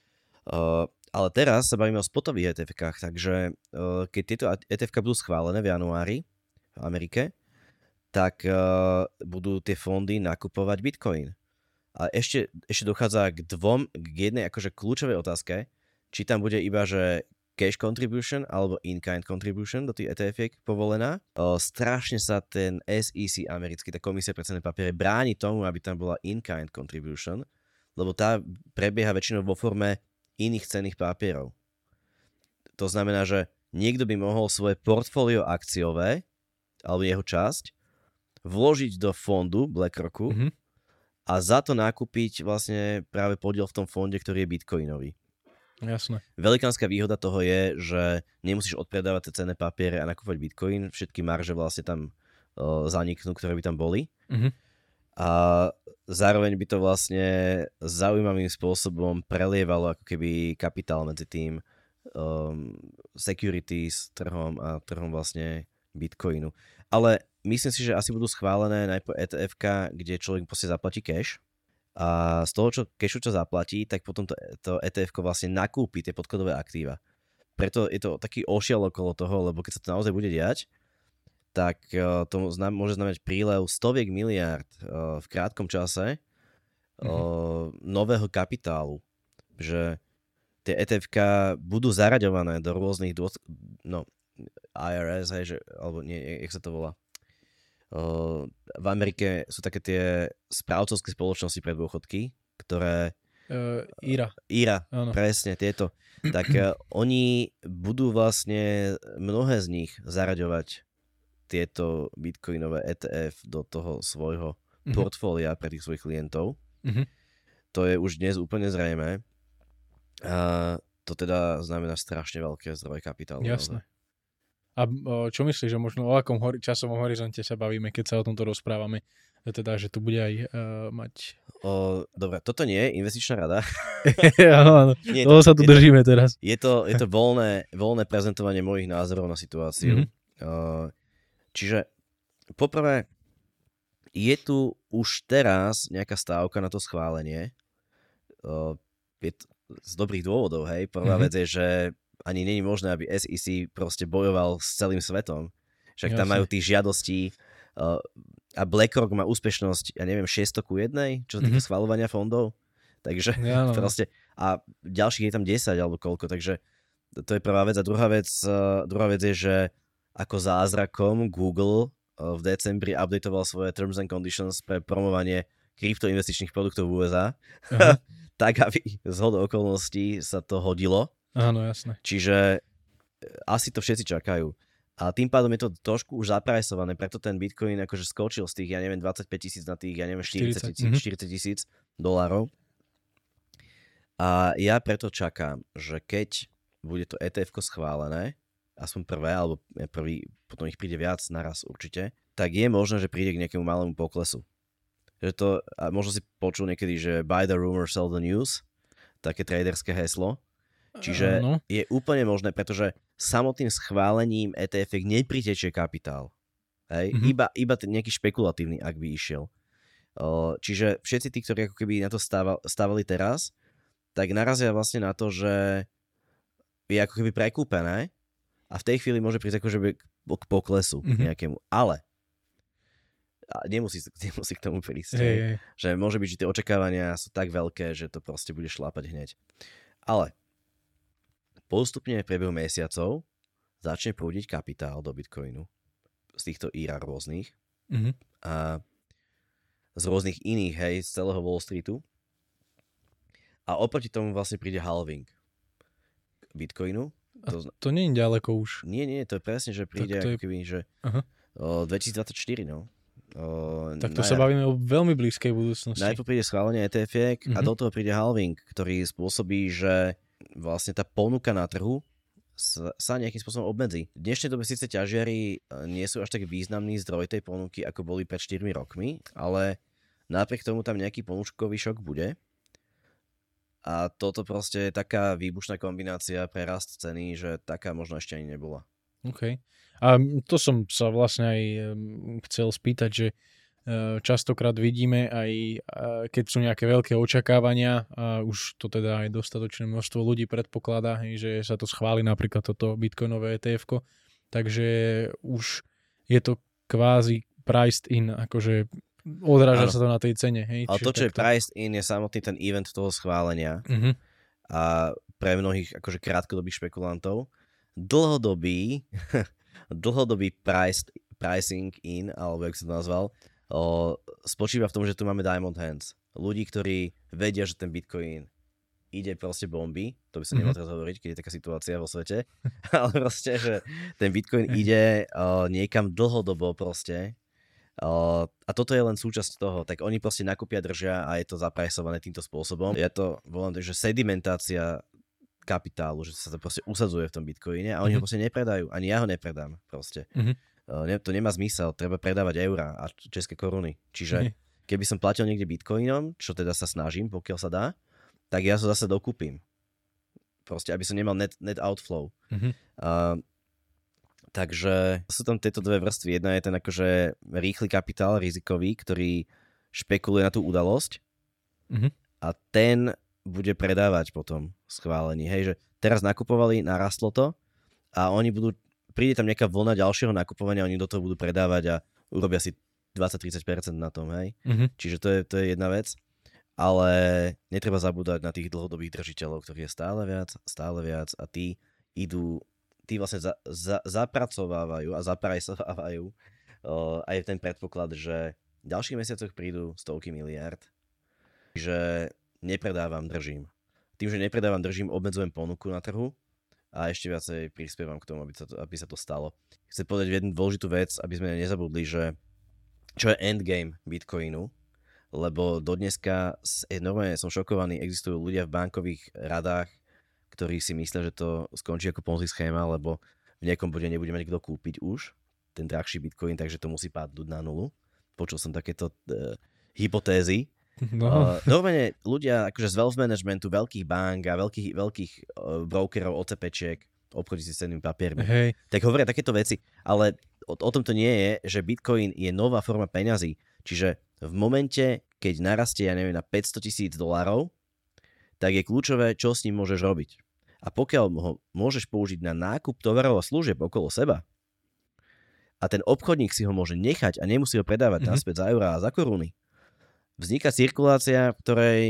Uh, ale teraz sa bavíme o spotových é té efkách, takže uh, keď tieto é té efka budú schválené v januári v Amerike, tak uh, budú tie fondy nakupovať Bitcoin. A ešte, ešte dochádza k dvom, k jednej akože kľúčovej otázke, či tam bude iba, že cash contribution alebo in-kind contribution do tých é té efiek povolená. O, strašne sa ten es í cé americký, tá komisia pre cenné papiere, bráni tomu, aby tam bola in-kind contribution, lebo tá prebieha väčšinou vo forme iných cenných papierov. To znamená, že niekto by mohol svoje portfólio akciové alebo jeho časť vložiť do fondu BlackRocku Mhm. a za to nakúpiť vlastne práve podiel v tom fonde, ktorý je bitcoinový. Jasné. Velikánska výhoda toho je, že nemusíš odpredávať tie cenné papiere a nakúpať bitcoin, všetky marže vlastne tam uh, zaniknú, ktoré by tam boli. Mhm. A zároveň by to vlastne zaujímavým spôsobom prelievalo ako keby kapitál medzi tým um, securities trhom a trhom vlastne bitcoinu. Ale myslím si, že asi budú schválené najprv é té efka, kde človek proste zaplatí cash. A z toho, čo cashu čo zaplatí, tak potom to, to é té efko vlastne nakúpi tie podkladové aktíva. Preto je to taký ošiel okolo toho, lebo keď sa to naozaj bude diať, tak uh, to znam, môže znamenať prílev stoviek miliárd uh, v krátkom čase uh, mm-hmm. nového kapitálu. Že tie é té efka budú zaraďované do rôznych dôs- no, í er es, hej, že, alebo nie, jak sa to volá. Uh, v Amerike sú také tie správcovské spoločnosti pre dôchodky, ktoré... Uh, Ira. Ira, Áno. presne, tieto. Tak uh, oni budú vlastne mnohé z nich zaraďovať tieto bitcoinové é té ef do toho svojho Mhm. portfólia pre tých svojich klientov. Mhm. To je už dnes úplne zrejmé. A to teda znamená strašne veľké zdroje kapitálu. Jasné. A o, čo myslíš, že možno o akom hori- časovom horizonte sa bavíme, keď sa o tomto rozprávame? Teda, že tu bude aj uh, mať... O, dobre, toto nie je investičná rada. Áno, áno. Nie, Toho sa tu je to- držíme teraz. Je to, je to voľné, voľné prezentovanie mojich názorov na situáciu. Mhm. Uh, čiže poprvé, Je tu už teraz nejaká stávka na to schválenie. Uh, je to z dobrých dôvodov, hej. Prvá mm-hmm. vec je, že ani nie je možné, aby es í cé proste bojoval s celým svetom. Však tam majú tých žiadostí uh, a BlackRock má úspešnosť, ja neviem, šesťsto ku jednej, čo sa týka mm-hmm. schvaľovania fondov. Takže ja, no. proste, a ďalších je tam desať alebo koľko, takže to je prvá vec. A druhá vec, uh, druhá vec je, že ako zázrakom Google uh, v decembri updateoval svoje terms and conditions pre promovanie kryptoinvestičných produktov v ú es á. Uh-huh. Tak, aby z hodou okolností sa to hodilo. Áno, jasné. Čiže asi to všetci čakajú. A tým pádom je to trošku už zaprajsované, preto ten Bitcoin akože skočil z tých, ja neviem, dvadsaťpäť tisíc na tých, ja neviem, štyridsať tisíc dolárov. A ja preto čakám, že keď bude to é té efko schválené, aspoň prvé, alebo prvý, potom ich príde viac naraz určite, tak je možné, že príde k nejakému malému poklesu. Že to, a možno si počul niekedy, že buy the rumor, sell the news, také traderské heslo. Čiže uh, no. je úplne možné, pretože samotným schválením é té ef nepritečie kapitál. Hej? Mm-hmm. Iba, iba ten nejaký špekulatívny, ak by išiel. Uh, čiže všetci tí, ktorí ako keby na to stával, stávali teraz, tak narazia vlastne na to, že je ako keby prekúpené a v tej chvíli môže prísť akože k poklesu mm-hmm. nejakému. Ale a nemusí, nemusí k tomu prísť. Hey, hey. Že môže byť, že tie očakávania sú tak veľké, že to proste bude šlápať hneď. Ale postupne v priebehu mesiacov začne prúdiť kapitál do Bitcoinu z týchto ír rôznych mm-hmm. a z rôznych iných, hej, z celého Wall Streetu. A oproti tomu vlastne príde halving Bitcoinu. To, to nie je ďaleko už. Nie, nie, to je presne, že príde ako je... keby, že o, dvetisícdvadsaťštyri, no. O, tak to naj... sa bavíme o veľmi blízkej budúcnosti. Najprv príde schválenie é té efiek mm-hmm. a do toho príde halving, ktorý spôsobí, že vlastne tá ponuka na trhu sa, sa nejakým spôsobom obmedzí. V dnešnej dobe síce ťažiari nie sú až tak významný zdroj tej ponuky, ako boli pred štyrmi rokmi, ale napriek tomu tam nejaký ponučkový šok bude. A toto proste je taká výbušná kombinácia pre rast ceny, že taká možno ešte ani nebola. OK. A to som sa vlastne aj chcel spýtať, že častokrát vidíme aj, keď sú nejaké veľké očakávania a už to teda aj dostatočné množstvo ľudí predpokladá, že sa to schváli napríklad toto bitcoinové é té efko, takže už je to kvázi priced in, akože odráža ano. Sa to na tej cene. Hej? Ale to, čo je priced in, je samotný ten event toho schválenia uh-huh. a pre mnohých akože krátkodobých špekulantov dlhodobý dlhodobý priced, pricing in, alebo jak sa to nazval, o, spočíva v tom, že tu máme diamond hands. Ľudí, ktorí vedia, že ten Bitcoin ide proste bomby, to by sa mm-hmm. nemalo teraz hovoriť, keď je taká situácia vo svete, ale proste, že ten Bitcoin ide o, niekam dlhodobo proste o, a toto je len súčasť toho, tak oni proste nakúpia, držia a je to zaprajsované týmto spôsobom. Ja to volám, že sedimentácia kapitálu, že sa to proste usadzuje v tom Bitcoine a oni mm-hmm. ho proste nepredajú, ani ja ho nepredám proste. Mm-hmm. To nemá zmysel, treba predávať eurá a české koruny. Čiže keby som platil niekde bitcoinom, čo teda sa snažím, pokiaľ sa dá, tak ja to zase dokúpim. Proste, aby som nemal net, net outflow. Mm-hmm. Uh, takže sú tam tieto dve vrstvy. Jedna je ten akože rýchly kapitál, rizikový, ktorý špekuluje na tú udalosť mm-hmm. a ten bude predávať potom schválení. Hej, že teraz nakupovali, narastlo to a oni budú príde tam nejaká vlna ďalšieho nakupovania, oni do toho budú predávať a urobia si dvadsať až tridsať percent na tom, hej. Mm-hmm. Čiže to je, to je jedna vec, ale netreba zabúdať na tých dlhodobých držiteľov, ktorých je stále viac, stále viac a tí idú, tí vlastne za, za, zapracovávajú a zaprajsovávajú uh, aj ten predpoklad, že v ďalších mesiacoch prídu stovky miliárd, že nepredávam, držím. Tým, že nepredávam, držím, obmedzujem ponuku na trhu a ešte viacej prispievam k tomu, aby sa to, aby sa to stalo. Chcem povedať jednu dôležitú vec, aby sme nezabudli, že čo je endgame Bitcoinu, lebo do dneska normálne som šokovaný, existujú ľudia v bankových radách, ktorí si myslia, že to skončí ako Ponzi schéma, lebo v nejakom bode nebude mať kto kúpiť už ten drahší Bitcoin, takže to musí padnúť na nulu. Počul som takéto uh, hypotézy. No. Uh, normálne ľudia akože z wealth managementu, veľkých bank a veľkých, veľkých uh, brokerov, OCPčiek, obchodí si s cennými papiermi, hey. tak hovoria takéto veci, ale o, o tom to nie je, že Bitcoin je nová forma peňazí. Čiže v momente, keď narastie, ja neviem, na päťsto tisíc dolárov, tak je kľúčové, čo s ním môžeš robiť. A pokiaľ ho môžeš použiť na nákup tovarov a služieb okolo seba a ten obchodník si ho môže nechať a nemusí ho predávať mm-hmm. naspäť za eurá a za koruny, vzniká cirkulácia, v ktorej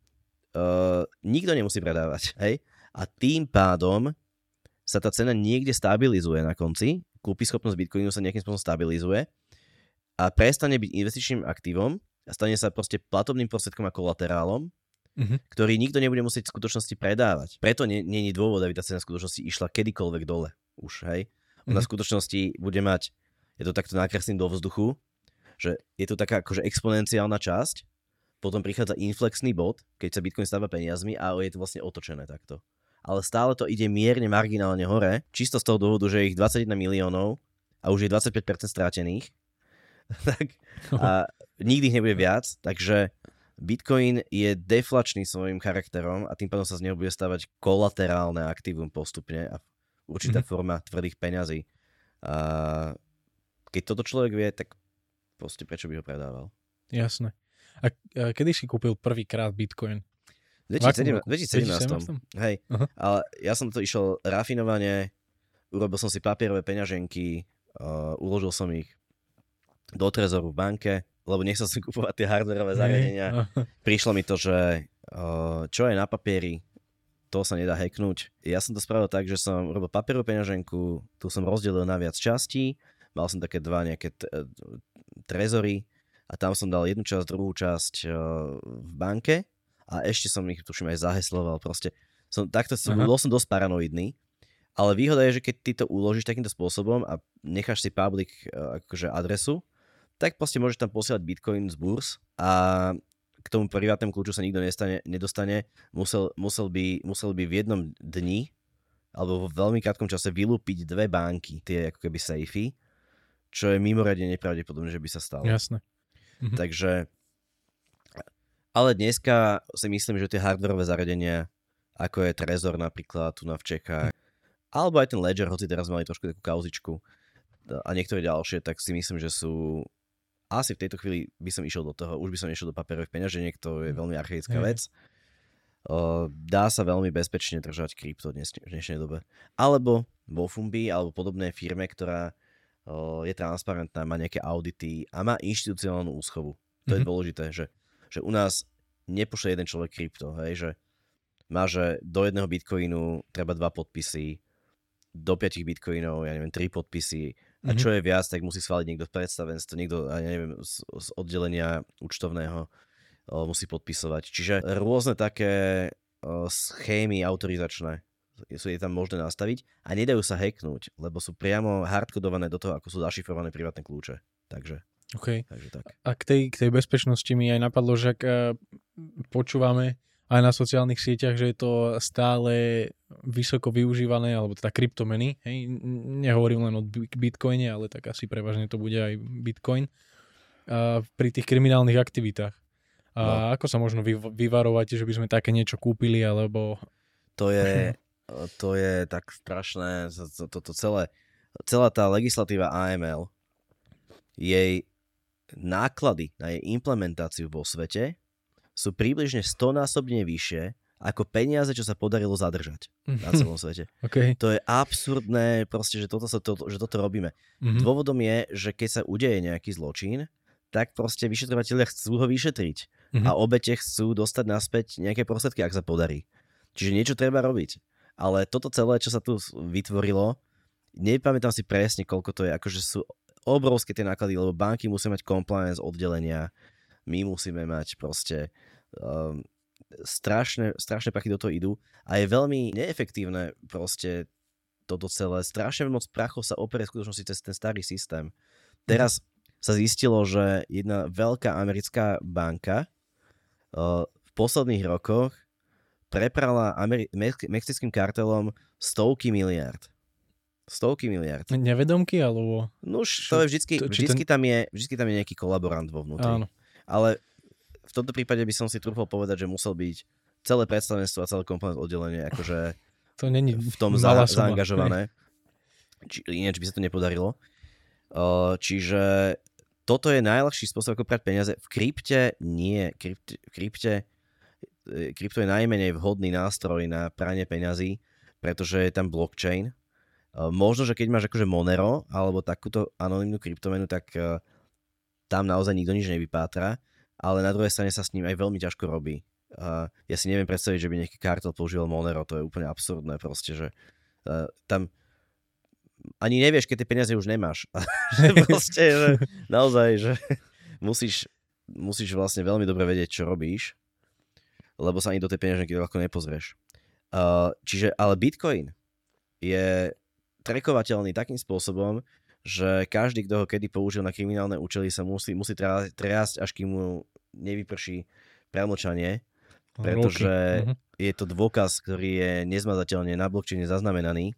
uh, nikto nemusí predávať. Hej? A tým pádom sa tá cena niekde stabilizuje na konci, kúpyschopnosť Bitcoinu sa nejakým spôsobom stabilizuje a prestane byť investičným aktívom a stane sa proste platobným prostriedkom a kolaterálom, mm-hmm. ktorý nikto nebude musieť v skutočnosti predávať. Preto nie, nie je dôvod, aby tá cena v skutočnosti išla kedykoľvek dole. Už, hej? Ona mm-hmm. v skutočnosti bude mať, je to takto nakreslím do vzduchu, že je to taká akože exponenciálna časť, potom prichádza inflexný bod, keď sa Bitcoin stáva peniazmi a je to vlastne otočené takto. Ale stále to ide mierne marginálne hore, čisto z toho dôvodu, že je ich dvadsaťjeden miliónov a už je dvadsaťpäť percent strátených. tak, a nikdy ich nebude viac, takže Bitcoin je deflačný svojím charakterom a tým pádom sa z neho bude stavať kolaterálne aktívum postupne a určitá mm-hmm. forma tvrdých peňazí. A keď toto človek vie, tak proste prečo by ho predával? Jasné. A, a kedy si kúpil prvýkrát Bitcoin? V dvetisícsedemnásť. Hej, uh-huh. Ale ja som to išiel rafinovane, urobil som si papierové peňaženky, uh, uložil som ich do trezoru v banke, lebo nechcel som kúpovať tie hardwareové zariadenia. Uh-huh. Prišlo mi to, že uh, čo je na papieri, to sa nedá hacknúť. Ja som to spravil tak, že som urobil papierovú peňaženku, tu som rozdelil na viac častí, mal som také dva nejaké t- trezory a tam som dal jednu časť, druhú časť uh, v banke a ešte som ich, tuším, aj zahesloval. Proste som, takto som, bol som dosť paranoidný, ale výhoda je, že keď ty to uložíš takýmto spôsobom a necháš si public uh, akože adresu, tak proste môžeš tam posielať Bitcoin z burs a k tomu privátnemu kľúču sa nikto nestane, nedostane. Musel, musel, by, musel by v jednom dni alebo vo veľmi krátkom čase vylúpiť dve banky, tie ako keby safey, čo je mimoriadne nepravdepodobné, že by sa stalo. Jasné. Mhm. Takže, ale dneska si myslím, že tie hardwareové zariadenia, ako je Trezor napríklad tu na v Čechách, mhm. alebo aj ten Ledger, hoci teraz mali trošku takú kauzičku a niektoré ďalšie, tak si myslím, že sú asi v tejto chvíli by som išiel do toho, už by som išiel do papierových peňaženiek, to je veľmi archaická mm. vec. Uh, dá sa veľmi bezpečne držať krypto dnes, v dnešnej dobe. Alebo vo Fumbi, alebo podobnej firme, ktorá uh, je transparentná, má nejaké audity a má inštitucionálnu úschovu. To mm-hmm. je dôležité, že, že u nás nepošle jeden človek krypto, hej, že má, že do jedného bitcoinu treba dva podpisy, do piatich bitcoinov, ja neviem, tri podpisy. A čo je viac, tak musí schváliť niekto v predstavenstve, niekto, ja neviem, z, z oddelenia účtovného o, musí podpisovať. Čiže rôzne také o, schémy autorizačné sú je tam možné nastaviť a nedajú sa hacknúť, lebo sú priamo hardkodované do toho, ako sú zašifrované privátne kľúče. Takže, okay. takže tak. A k tej, k tej bezpečnosti mi aj napadlo, že ak uh, počúvame aj na sociálnych sieťach, že je to stále vysoko využívané, alebo teda kryptomeny. Hej? Nehovorím len o Bitcoine, ale tak asi prevažne to bude aj Bitcoin. A pri tých kriminálnych aktivitách. A no. Ako sa možno vy, vyvarovať, že by sme také niečo kúpili, alebo... To je, to je tak strašné. Toto celé, celá tá legislatíva á em el, jej náklady na jej implementáciu vo svete sú približne stonásobne vyššie ako peniaze, čo sa podarilo zadržať na celom svete. Okay. To je absurdné, proste, že toto, sa to, že toto robíme. Mm-hmm. Dôvodom je, že keď sa udeje nejaký zločin, tak proste vyšetrovatelia chcú ho vyšetriť mm-hmm. a obete chcú dostať naspäť nejaké prostriedky, ak sa podarí. Čiže niečo treba robiť. Ale toto celé, čo sa tu vytvorilo, nepamätám si presne, koľko to je, akože sú obrovské tie náklady, lebo banky musia mať compliance oddelenia, my musíme mať proste um, strašné, strašné prachy do toho idú a je veľmi neefektívne proste toto celé. Strašne moc prachov sa operie v skutočnosti cez ten starý systém. Teraz sa zistilo, že jedna veľká americká banka uh, v posledných rokoch preprala Ameri- me- mexickým kartelom stovky miliárd. Stovky miliárd. Nevedomky, alebo... No už to je vždycky, to, vždycky, ten... tam je, vždycky tam je nejaký kolaborant vo vnútri. Áno. Ale v tomto prípade by som si trúfal povedať, že musel byť celé predstavenstvo a celé komponent oddelenie akože to není v tom za, zaangažované. Či, ináč by sa to nepodarilo. Uh, čiže toto je najľahší spôsob, ako prať peniaze. V krypte nie. Krypte, v krypte, krypto je najmenej vhodný nástroj na pranie peňazí, pretože je tam blockchain. Možno, že keď máš akože Monero alebo takúto anonymnú kryptomenu, tak tam naozaj nikto nič nevypátra, ale na druhej strane sa s ním aj veľmi ťažko robí. Ja si neviem predstaviť, že by nejaký kartel používal Monero, to je úplne absurdné proste, že tam ani nevieš, keď tie peniaze už nemáš. Proste, že naozaj, že musíš, musíš vlastne veľmi dobre vedieť, čo robíš, lebo sa ani do tej peňaženky ľahko nepozrieš. Uh, čiže, ale Bitcoin je trackovateľný takým spôsobom, že každý, kto ho kedy použil na kriminálne účely, sa musí, musí triasť, až kým mu nevyprší premlčanie, pretože uh-huh. je to dôkaz, ktorý je nezmazateľne na blockchaine zaznamenaný.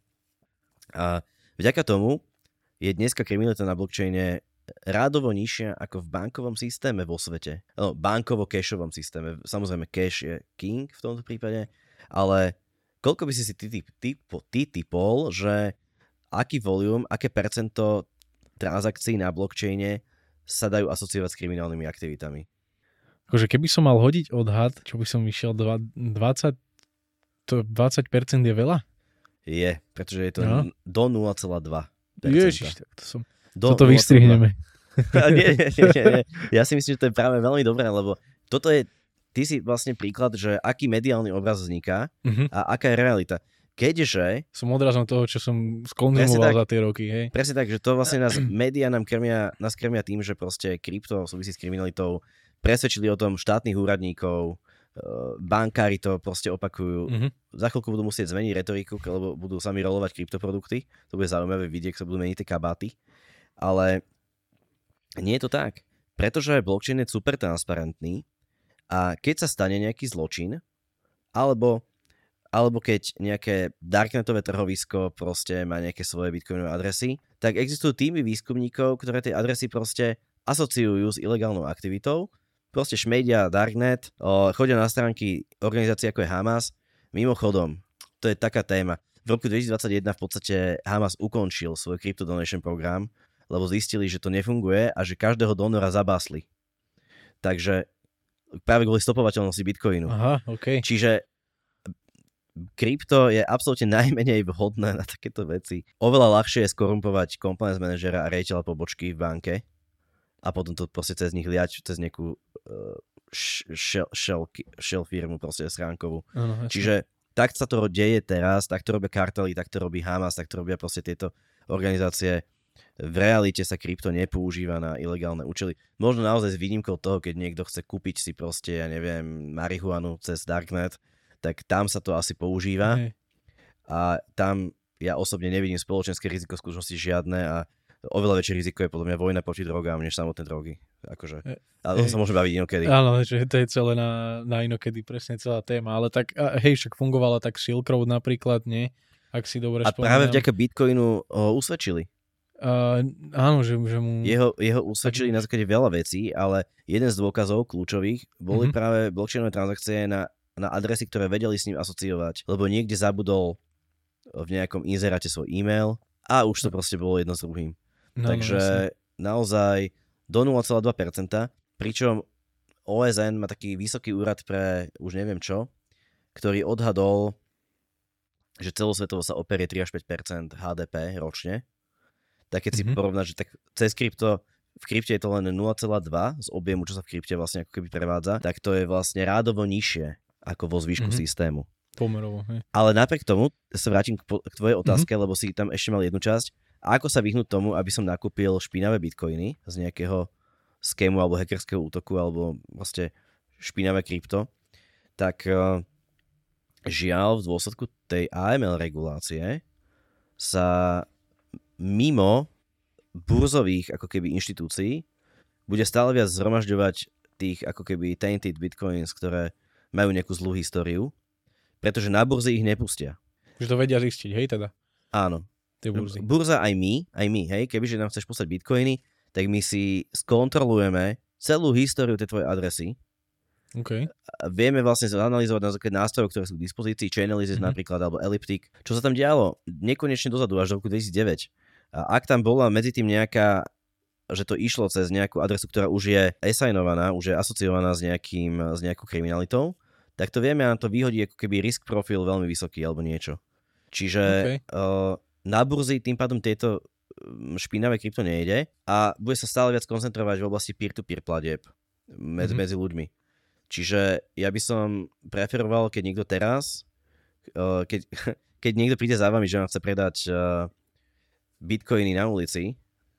A vďaka tomu je dneska kriminalita na blockchaine rádovo nižšia ako v bankovom systéme vo svete. No, bankovo-cashovom systéme. Samozrejme, cash je king v tomto prípade, ale koľko by si si ty, ty, ty, ty typol, že aký volume, aké percento transakcií na blockchaine sa dajú asociovať s kriminálnymi aktivitami? Akože keby som mal hodiť odhad, čo by som išiel dvadsať, to dvadsať percent je veľa? Je, pretože je to no. do nula celá dva percenta. Ježiš, tak to som... Do toto vystrihneme. nie, nie, nie, nie. Ja si myslím, že to je práve veľmi dobré, lebo toto je, ty si vlastne príklad, že aký mediálny obraz vzniká uh-huh. a aká je realita. Keďže... Som odrazom toho, čo som skonzumoval za tie roky, hej. Presne tak, že to vlastne nás, médiá nám krmia, nás krmia tým, že proste krypto súvisí s kriminalitou, presvedčili o tom štátnych úradníkov, bankári to proste opakujú. Mm-hmm. Za chvíľku budú musieť zmeniť retoriku, lebo budú sami rolovať kryptoprodukty. To bude zaujímavé vidieť, ak sa budú meniť tie kabáty. Ale nie je to tak. Pretože blockchain je super transparentný a keď sa stane nejaký zločin, alebo, alebo keď nejaké darknetové trhovisko proste má nejaké svoje bitcoinové adresy, tak existujú týmy výskumníkov, ktoré tie adresy proste asociujú s ilegálnou aktivitou. Proste šmejdia Darknet, o, chodia na stránky organizácií ako je Hamas. Mimochodom, to je taká téma. V roku dvetisícdvadsaťjeden v podstate Hamas ukončil svoj crypto donation program, lebo zistili, že to nefunguje a že každého donora zabásli. Takže práve kvôli stopovateľnosti Bitcoinu. Aha, okay. Čiže krypto je absolútne najmenej vhodné na takéto veci. Oveľa ľahšie je skorumpovať compliance manažera a riaditeľa pobočky v banke a potom to proste cez nich liať, cez nejakú uh, shell, shell, shell firmu, proste schránkovú. Ano, Čiže tak sa to deje teraz, tak to robia kartely, tak to robí Hamas, tak to robia proste tieto organizácie. V realite sa krypto nepoužíva na ilegálne účely. Možno naozaj s výnimkou toho, keď niekto chce kúpiť si proste, ja neviem, marihuanu cez Darknet, tak tam sa to asi používa. Hej. A tam ja osobne nevidím spoločenské riziko v skutočnosti žiadne a oveľa väčšie riziko je podľa mňa vojna proti drogám, než samotné drogy. Akože. Ale to sa môže baviť inokedy. Áno, že to je celé na, na inokedy, presne celá téma. Ale tak, hej, však fungovala tak Silk Road napríklad, nie? Ak si dobre a spomínam. A práve vďaka Bitcoinu ho usvedčili. Uh, áno, že, že mu... Jeho, jeho usvedčili na základe veľa vecí, ale jeden z dôkazov kľúčových boli mm-hmm. práve blockchainové transakcie na, na adresy, ktoré vedeli s ním asociovať. Lebo niekde zabudol v nejakom inzeráte svoj e-mail a už to proste bolo jedno s druhým. No, Takže no, naozaj do nula celá dva percenta, pričom ó es en má taký vysoký úrad pre už neviem čo, ktorý odhadol, že celosvetovo sa operie tri až päť percent há dé pé ročne. Tak keď mm-hmm. si porovnáš, že tak cez krypto, v krypte je to len nula celá dva z objemu, čo sa v krypte vlastne ako keby prevádza, tak to je vlastne rádovo nižšie ako vo zvyšku mm-hmm. systému. Pomerovo, hej. Ale napriek tomu, sa vrátim k, po, k tvojej otázke, mm-hmm. lebo si tam ešte mal jednu časť. A ako sa vyhnúť tomu, aby som nakúpil špinavé bitcoiny z nejakého skému alebo hackerského útoku alebo vlastne špinavé krypto, tak uh, žiaľ v dôsledku tej á em el regulácie sa mimo burzových ako keby inštitúcií bude stále viac zhromažďovať tých ako keby tainted bitcoins, ktoré majú nejakú zlú históriu, pretože na burzy ich nepustia. Že to vedia zistiť, hej teda? Áno. Burzy. Burza aj my, aj my, hej, kebyže nám chceš poslať bitcoiny, tak my si skontrolujeme celú históriu tej tvojej adresy. Okay. A vieme vlastne analyzovať na základe nástrojov, ktoré sú k dispozícii, Chainalysis mm-hmm. napríklad, alebo Elliptic, čo sa tam dialo nekonečne dozadu, až do roku dvetisícdeväť. A ak tam bola medzi tým nejaká že to išlo cez nejakú adresu, ktorá už je assignovaná, už je asociovaná s, nejakým, s nejakou kriminalitou, tak to vieme a nám to vyhodí ako keby risk profil veľmi vysoký alebo niečo. Čiže okay. uh, na burzy tým pádom tieto špinavé krypto nejde a bude sa stále viac koncentrovať v oblasti peer-to-peer platieb medzi, mm-hmm. medzi ľuďmi. Čiže ja by som preferoval, keď niekto teraz, uh, keď, keď niekto príde za vami, že vám chce predať uh, bitcoiny na ulici,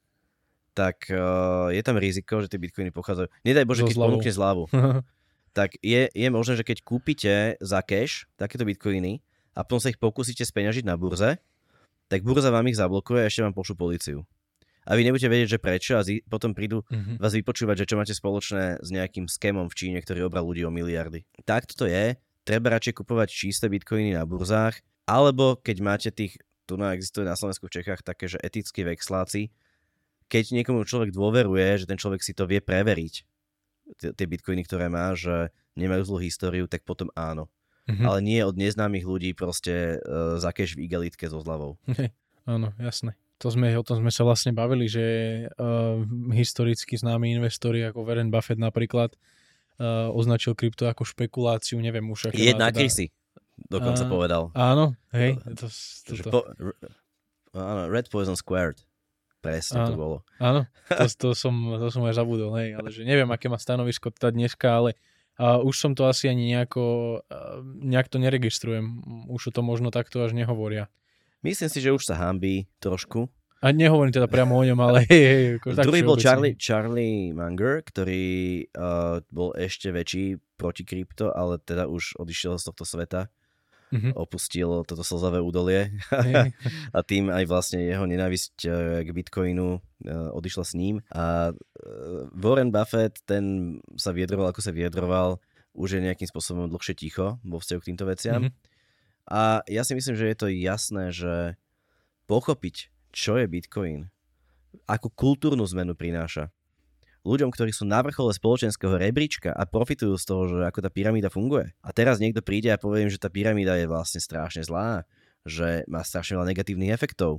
tak uh, je tam riziko, že tie bitcoiny pochádzajú. Nedaj Bože, keď ponúkne zľavu. Tak je, je možné, že keď kúpite za cash takéto bitcoiny a potom sa ich pokúsite speňažiť na burze, tak burza vám ich zablokuje a ešte vám pošlu políciu. A vy nebudete vedieť, že prečo a zi- potom prídu mm-hmm. vás vypočúvať, že čo máte spoločné s nejakým skémom v Číne, ktorý obral ľudí o miliardy. Tak to je. Treba radšej kupovať čisté bitcoiny na burzách, alebo keď máte tých, tu na existuje na Slovensku v Čechách také, že etickí vexláci, keď niekomu človek dôveruje, že ten človek si to vie preveriť, tie bitcoiny, ktoré má, že nemajú zlú históriu, tak potom áno. Mm-hmm. Ale nie od neznámych ľudí proste uh, za cash v igelitke so zľavou. Okay. Áno, jasné. To sme, o tom sme sa vlastne bavili, že uh, historicky známi investori ako Warren Buffett napríklad uh, označil krypto ako špekuláciu, neviem už aké... Jedna teda... krysy, dokonca uh, povedal. Áno, hej. To, to, to. Po, áno, Red Poison Squared. Presne áno, to bolo. Áno, to, to, som, to som aj zabudol, hej, ale že neviem, aké má stanovisko teda dneska, ale uh, už som to asi ani nejako, uh, nejak to neregistrujem. Už to možno takto až nehovoria. Myslím si, že už sa hanbí trošku. A nehovorím teda priamo o ňom, ale hej, hej. Druhý bol Charlie, Charlie Munger, ktorý uh, bol ešte väčší proti krypto, ale teda už odišiel z tohto sveta. Mm-hmm. Opustil toto slzavé údolie hey. A tým aj vlastne jeho nenávisť k Bitcoinu odišla s ním. A Warren Buffett, ten sa vyjadroval, ako sa vyjadroval, už je nejakým spôsobom dlhšie ticho vo vzťahu k týmto veciam. Mm-hmm. A ja si myslím, že je to jasné, že pochopiť, čo je Bitcoin, akú kultúrnu zmenu prináša ľuďom, ktorí sú na vrchole spoločenského rebríčka a profitujú z toho, že ako tá pyramída funguje. A teraz niekto príde a povie im, že tá pyramída je vlastne strašne zlá, že má strašne veľa negatívnych efektov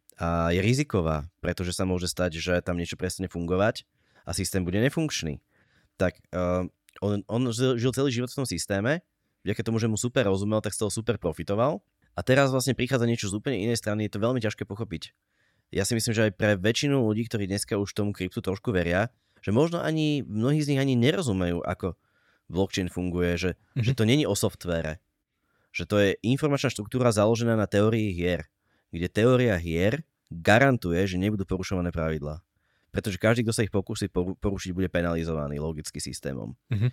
a je riziková, pretože sa môže stať, že tam niečo prestane fungovať a systém bude nefunkčný. Tak uh, on, on žil celý život v tom systéme, vďaka tomu, že mu super rozumel, tak z toho super profitoval. A teraz vlastne prichádza niečo z úplne inej strany, je to veľmi ťažké pochopiť. Ja si myslím, že aj pre väčšinu ľudí, ktorí dneska už tomu kryptu trošku veria, že možno ani, mnohí z nich ani nerozumejú, ako blockchain funguje, že, mm-hmm. že to není o softvére. Že to je informačná štruktúra založená na teórii hier, kde teória hier garantuje, že nebudú porušované pravidlá. Pretože každý, kto sa ich pokúsi porušiť, bude penalizovaný logicky systémom. Mm-hmm.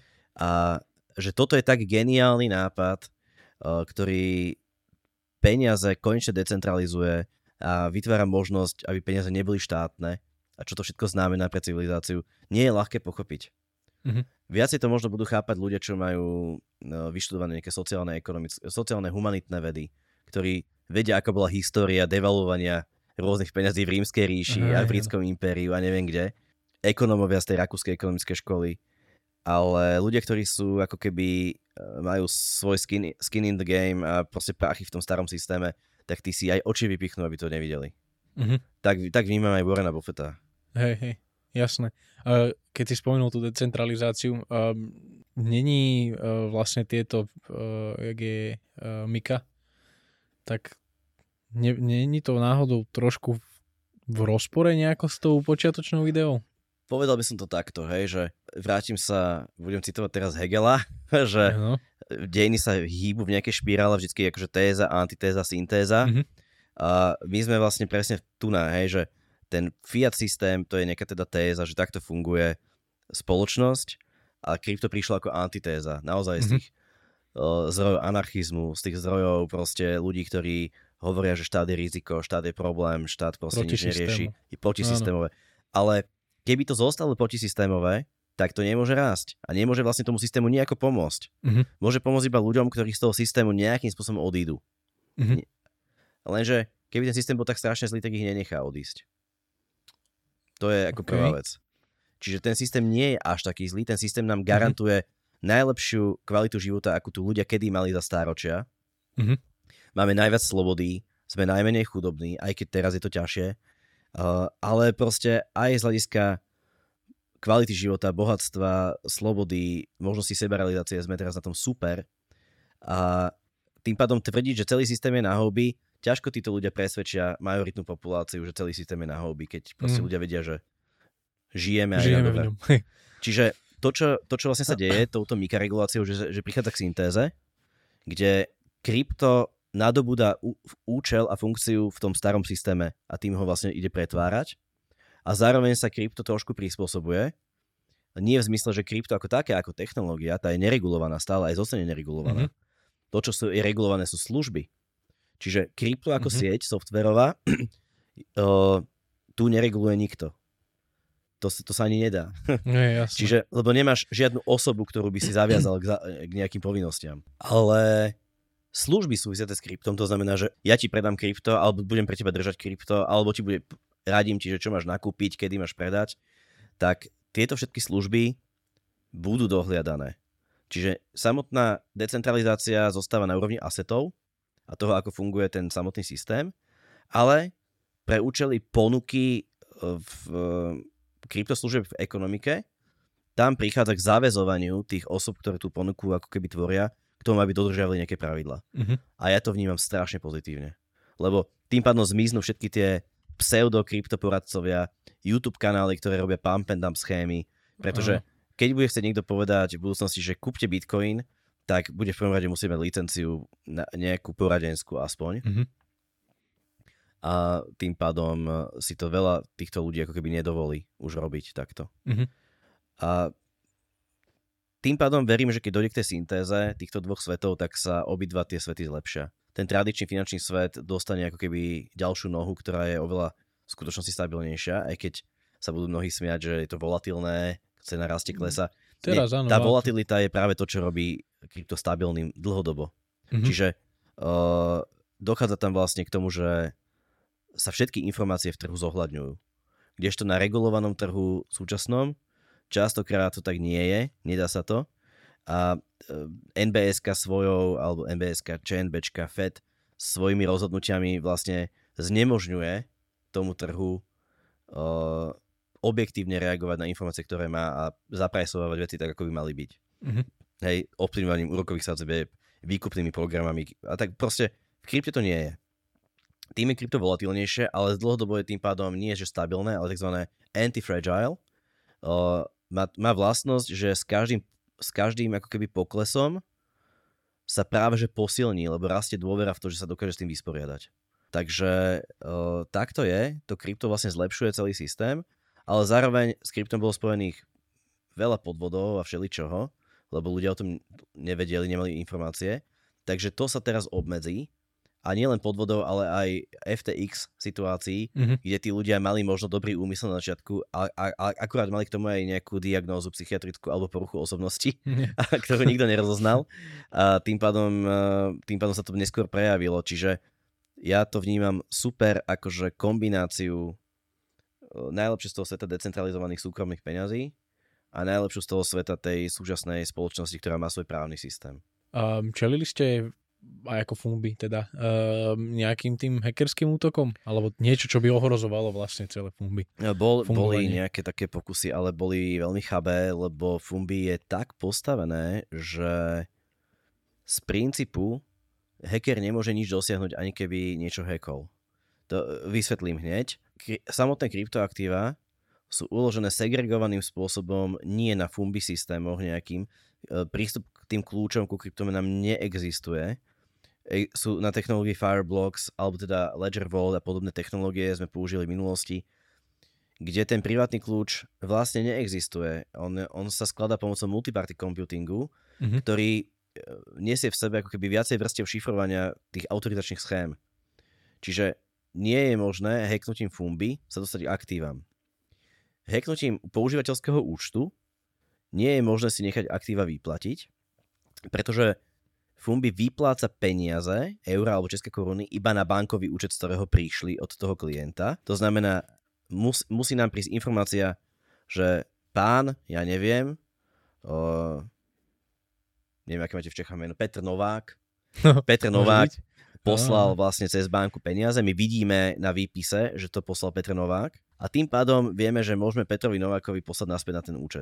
A že toto je tak geniálny nápad, ktorý peniaze konečne decentralizuje a vytvára možnosť, aby peniaze neboli štátne, a čo to všetko znamená pre civilizáciu, nie je ľahké pochopiť. Mm-hmm. Viacej to možno budú chápať ľudia, čo majú no, vyštudované nejaké sociálne, sociálne humanitné vedy, ktorí vedia, ako bola história devalovania rôznych peňazí v Rímskej ríši Aha, a v Britskom impériu a neviem kde. Ekonómovia z tej rakúskej ekonomickej školy. Ale ľudia, ktorí sú ako keby majú svoj skin, skin in the game a proste práchy v tom starom systéme, tak tí si aj oči vypichnú, aby to nevideli. Mm-hmm. Tak, tak vnímam aj Warrena Buffetta. Hej, hej, jasné. Uh, keď si spomenul tú decentralizáciu, uh, není uh, vlastne tieto, uh, jak je uh, Mika, tak ne, není to náhodou trošku v rozpore nejako s tou počiatočnou ideou? Povedal by som to takto, hej, že vrátim sa, budem citovať teraz Hegela, že no. dejiny sa hýbu v nejakej špirále, vždycky akože téza, antitéza, syntéza. Mm-hmm. A my sme vlastne presne tu na, hej, že ten fiat systém, to je nejaká teda téza, že takto funguje spoločnosť a krypto prišlo ako antitéza. Naozaj mm-hmm. z tých uh, zdrojov anarchizmu, z tých zdrojov proste ľudí, ktorí hovoria, že štát je riziko, štát je problém, štát proste proti nič nerieši. Je protisystémové. Áno. Ale keby to zostalo protisystémové, tak to nemôže rásť. A nemôže vlastne tomu systému nejako pomôcť. Mm-hmm. Môže pomôcť iba ľuďom, ktorí z toho systému nejakým spôsobom odídu. Mm-hmm. Lenže keby ten systém bol tak strašne zlý, tak ich nenechá odísť. To je ako okay. prvá vec. Čiže ten systém nie je až taký zlý, ten systém nám garantuje mm-hmm. najlepšiu kvalitu života, akú tu ľudia kedy mali za stáročia. Mm-hmm. Máme najviac slobody, sme najmenej chudobní, aj keď teraz je to ťažšie. Uh, ale proste aj z hľadiska kvality života, bohatstva, slobody, možnosti sebarealizácie sme teraz na tom super. A tým pádom tvrdiť, že celý systém je na houby, ťažko títo ľudia presvedčia majoritnú populáciu, že celý systém je na houby, keď proste mm. ľudia vedia, že žijeme aj žijeme na v ňom. Čiže to čo, to, čo vlastne sa deje touto mikroreguláciou, že, že prichádza k syntéze, kde krypto nadobúda účel a funkciu v tom starom systéme a tým ho vlastne ide pretvárať. A zároveň sa krypto trošku prispôsobuje. Nie v zmysle, že krypto ako také, ako technológia, tá je neregulovaná, stále aj zostane neregulovaná. Mm-hmm. To, čo sú, je regulované, sú služby. Čiže krypto ako mm-hmm. sieť softverová uh, tu nereguluje nikto. To, to sa ani nedá. Nie, Čiže, lebo nemáš žiadnu osobu, ktorú by si zaviazal k, k nejakým povinnostiam. Ale služby súvisiace s kryptom, to znamená, že ja ti predám krypto, alebo budem pre teba držať krypto, alebo ti bude radím ti, že čo máš nakúpiť, kedy máš predať, tak tieto všetky služby budú dohliadané. Čiže samotná decentralizácia zostáva na úrovni asetov a toho, ako funguje ten samotný systém, ale pre účely ponuky v kryptoslúžieb v ekonomike, tam prichádza k záväzovaniu tých osob, ktoré tú ponuku ako keby tvoria, k tomu, aby dodržiavali nejaké pravidlá. Uh-huh. A ja to vnímam strašne pozitívne. Lebo tým pádom zmiznú všetky tie pseudo-kryptoporadcovia, YouTube kanály, ktoré robia pump and dump schémy, pretože keď bude chcieť niekto povedať v budúcnosti, že kúpte Bitcoin, tak bude v prvom rade musieť mať licenciu na nejakú poradenskú aspoň. Mm-hmm. A tým pádom si to veľa týchto ľudí ako keby nedovolí už robiť takto. Mm-hmm. A tým pádom verím, že keď dojde k tej syntéze týchto dvoch svetov, tak sa obidva tie svety zlepšia. Ten tradičný finančný svet dostane ako keby ďalšiu nohu, ktorá je oveľa v skutočnosti stabilnejšia, aj keď sa budú mnohí smiať, že je to volatilné, cena rastie, klesa. Teraz, Nie, áno, tá volatilita je práve to, čo robí krypto stabilným dlhodobo. Mm-hmm. Čiže uh, dochádza tam vlastne k tomu, že sa všetky informácie v trhu zohľadňujú. Kdežto na regulovanom trhu súčasnom častokrát to tak nie je, nedá sa to. A en bé es ká svojou, alebo en bé es ká, ČNBčka, Fed svojimi rozhodnutiami vlastne znemožňuje tomu trhu uh, objektívne reagovať na informácie, ktoré má a zaprajsovať veci tak, ako by mali byť. Mm-hmm. Hej, ovplyvňovaním úrokových sadzieb, výkupnými programami a tak proste v krypte to nie je. Tým je krypto volatilnejšie, ale z dlhodobo je tým pádom nie že stabilné, ale tzv. Anti-fragile. Uh, má, má vlastnosť, že s každým s každým ako keby poklesom sa práve že posilní, lebo rastie dôvera v to, že sa dokáže s tým vysporiadať. Takže uh, takto je, to krypto vlastne zlepšuje celý systém, ale zároveň s kryptom bolo spojených veľa podvodov a všeličoho, lebo ľudia o tom nevedeli, nemali informácie, takže to sa teraz obmedzí a nielen podvodov, ale aj ef té iks situácií, mm-hmm. kde tí ľudia mali možno dobrý úmysel na začiatku a, a, a akurát mali k tomu aj nejakú diagnózu psychiatrickú alebo poruchu osobnosti, mm-hmm. ktorú nikto nerozoznal. A tým pádom, tým pádom sa to neskôr prejavilo. Čiže ja to vnímam super akože kombináciu najlepšie z toho sveta decentralizovaných súkromných peňazí a najlepšiu z toho sveta tej súčasnej spoločnosti, ktorá má svoj právny systém. Um, čelili ste aj ako Fumbi, teda uh, nejakým tým hackerským útokom? Alebo niečo, čo by ohrozovalo vlastne celé Fumbi? Bol, boli nejaké také pokusy, ale boli veľmi chabé, lebo Fumbi je tak postavené, že z princípu hacker nemôže nič dosiahnuť, ani keby niečo hackol. To vysvetlím hneď. Samotné kryptoaktíva sú uložené segregovaným spôsobom, nie na Fumbi systémoch nejakým. Prístup k tým kľúčom ku kryptomenám neexistuje. Sú na technológii Fireblocks, alebo teda Ledger Vault a podobné technológie sme použili v minulosti, kde ten privátny kľúč vlastne neexistuje. On, on sa skladá pomocou multiparty computingu, mm-hmm. ktorý nesie v sebe ako keby viacej vrstiev šifrovania tých autorizačných schém. Čiže nie je možné hacknutím Fumbi sa dostať k aktívam. Hacknutím používateľského účtu nie je možné si nechať aktíva vyplatiť, pretože Fumbi vypláca peniaze, eurá alebo české koruny, iba na bankový účet, z ktorého prišli od toho klienta. To znamená, mus, musí nám prísť informácia, že pán, ja neviem, o, neviem, aké máte v Čechách meno, Petr Novák, no, Petr Novák poslal vlastne cez banku peniaze, my vidíme na výpise, že to poslal Petr Novák a tým pádom vieme, že môžeme Petrovi Novákovi poslať naspäť na ten účet.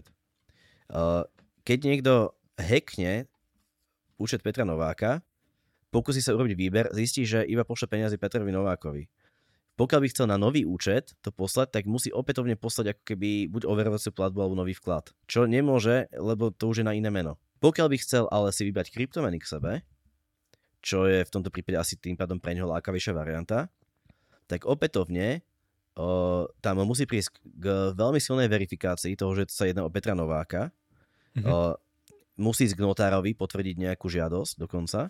Keď niekto hackne účet Petra Nováka, pokusí sa urobiť výber, zistí, že iba pošle peniazy Petrovi Novákovi. Pokiaľ by chcel na nový účet to poslať, tak musí opätovne poslať ako keby buď overovaciu platbu alebo nový vklad. Čo nemôže, lebo to už je na iné meno. Pokiaľ by chcel ale si vybrať kryptomeny k sebe, čo je v tomto prípade asi tým pádom pre neho lákavejšia varianta, tak opätovne o, tam musí prísť k veľmi silnej verifikácii toho, že sa jedná o Petra Nováka. Mm-hmm. O, musí ísť k notárovi potvrdiť nejakú žiadosť dokonca.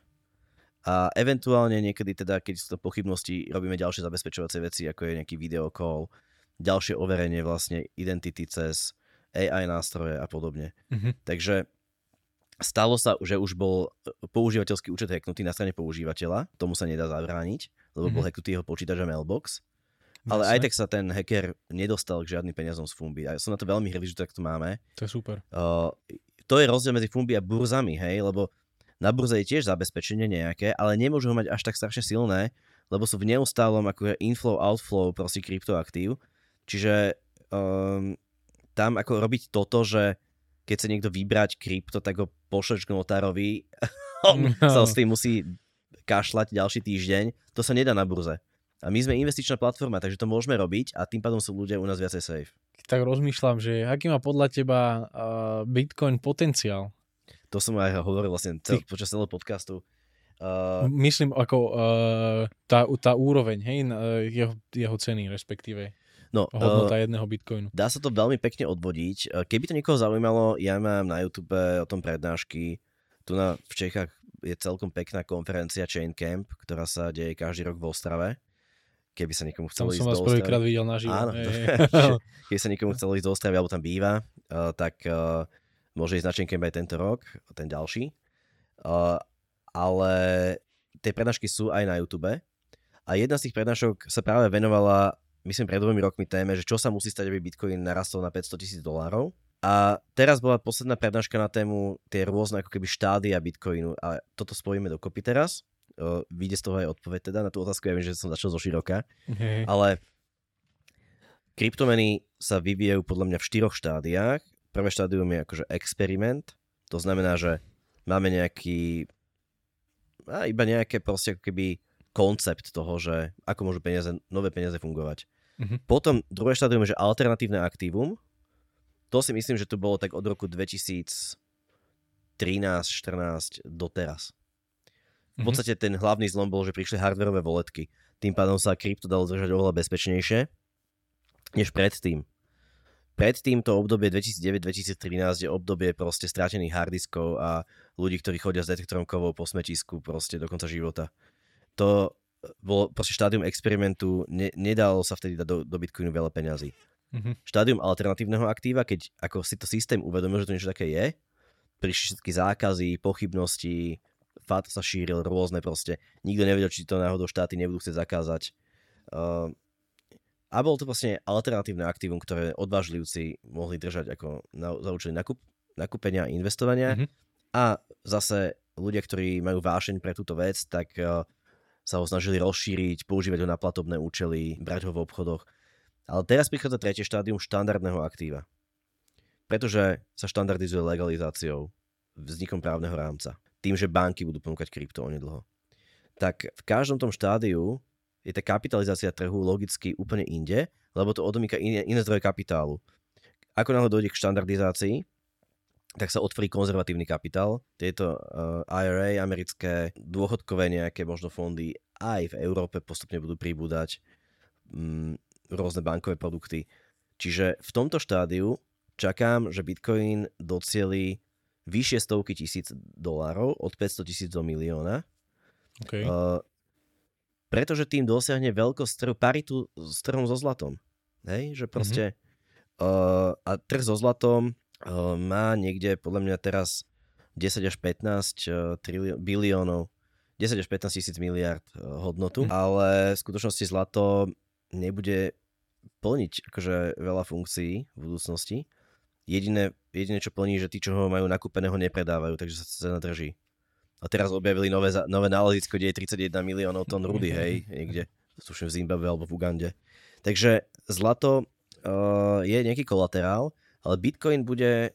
A eventuálne niekedy teda, keď sú to pochybnosti, robíme ďalšie zabezpečovacie veci, ako je nejaký video call, ďalšie overenie vlastne identity cez á í nástroje a podobne. Mm-hmm. Takže stalo sa, že už bol používateľský účet hacknutý na strane používateľa, tomu sa nedá zabrániť, lebo mm-hmm. bol hacknutý jeho počítač a mailbox. Ale aj tak sa ten hacker nedostal k žiadnym peniazom z Fumbi. A ja som na to veľmi hrdý, že to takto máme. To je super. Uh, to je rozdiel medzi Fumbi a burzami, hej, lebo na burze je tiež zabezpečenie nejaké, ale nemôžu ho mať až tak strašne silné, lebo sú v neustálom ako inflow, outflow proste kryptoaktív. Čiže um, tam ako robiť toto, že keď sa niekto vybrať krypto, tak ho pošleš k notárovi, on no. sa s tým musí kašľať ďalší týždeň, to sa nedá na burze. A my sme investičná platforma, takže to môžeme robiť a tým pádom sú ľudia u nás viacej safe. Tak rozmýšľam, že aký má podľa teba uh, Bitcoin potenciál? To som aj hovoril vlastne cel, počas celého podcastu. Uh, Myslím ako uh, tá, tá úroveň, hej, jeho, jeho ceny respektíve. No, hodnota uh, jedného bitcoinu. Dá sa to veľmi pekne odvodiť. Keby to niekoho zaujímalo, ja mám na YouTube o tom prednášky. Tu na, v Čechách je celkom pekná konferencia Chain Camp, ktorá sa deje každý rok v Ostrave. Keby sa niekomu chcelo ísť do Ostravy. Tam som vás prvýkrát videl naživo. Áno, keby sa niekomu chcelo ísť do Ostravy, alebo tam býva, uh, tak uh, môže ísť na Chain Camp aj tento rok, ten ďalší. Uh, ale tie prednášky sú aj na YouTube. A jedna z tých prednášok sa práve venovala, myslím, pred dvomi rokmi téme, že čo sa musí stať, aby Bitcoin narastol na päťsto tisíc dolárov. A teraz bola posledná prednáška na tému tie rôzne ako keby štádia Bitcoinu. A toto spojíme dokopy teraz. Uh, vyjde z toho aj odpoveď teda na tú otázku. Ja viem, že som začal zo široka. Okay. Ale kryptomeny sa vyvíjajú podľa mňa v štyroch štádiách. Prvé štádium je akože experiment. To znamená, že máme nejaký a iba nejaké proste ako keby koncept toho, že ako môžu peniaze, nové peniaze fungovať. Mm-hmm. Potom druhé štádium je, že alternatívne aktívum. To si myslím, že to bolo tak od roku dvetisíctrinásť štrnásť doteraz. V podstate ten hlavný zlom bol, že prišli hardwareové voletky. Tým pádom sa krypto dalo držať oveľa bezpečnejšie než predtým. Predtým to obdobie dvetisícdeväť dvetisíctrinásť je obdobie proste strátených harddiskov a ľudí, ktorí chodia s detektorom kovov po smetisku proste do konca života. To bolo proste štádium experimentu, ne, nedalo sa vtedy dať do, do Bitcoinu veľa peňazí. Mm-hmm. Štádium alternatívneho aktíva, keď ako si to systém uvedomil, že to niečo také je, prišli všetky zákazy, pochybnosti, ef á té sa šíril rôzne proste, nikto nevedel, či to náhodou štáty nebudú chcieť zakázať. Uh, A bolo to vlastne alternatívne aktívum, ktoré odvážlivci mohli držať ako na, za účely nakup, nakúpenia a investovania. Mm-hmm. A zase ľudia, ktorí majú vášeň pre túto vec, tak uh, sa ho snažili rozšíriť, používať ho na platobné účely, brať ho v obchodoch. Ale teraz prichádza tretie štádium štandardného aktíva. Pretože sa štandardizuje legalizáciou, vznikom právneho rámca. Tým, že banky budú ponúkať krypto onedlho. Tak v každom tom štádiu je tá kapitalizácia trhu logicky úplne inde, lebo to odomýka iné, iné zdroje kapitálu. Ako náhle dojde k štandardizácii, tak sa otvorí konzervatívny kapitál. Tieto uh, í er á, americké dôchodkové nejaké možno fondy aj v Európe postupne budú pribúdať um, rôzne bankové produkty. Čiže v tomto štádiu čakám, že Bitcoin docieli vyššie stovky tisíc dolárov, od päťsto tisíc do milióna. Okay. Uh, pretože tým dosiahne veľkosť trhu, paritu s trhom so zlatom. Hej, že proste mm-hmm. uh, a trh so zlatom uh, má niekde podľa mňa teraz desať až pätnásť uh, trilió- biliónov, desať až pätnásť tisíc miliárd uh, hodnotu, mm. ale v skutočnosti zlato nebude plniť akože veľa funkcií v budúcnosti. Jediné, jediné, čo plní, že tí, čo ho majú nakúpeného, nepredávajú, takže sa cena drží. A teraz objavili nové, nové nálezisko, kde je tridsaťjeden miliónov tón rudy, hej, niekde, tuším v Zimbabwe alebo v Ugande. Takže zlato uh, je nejaký kolaterál, ale Bitcoin bude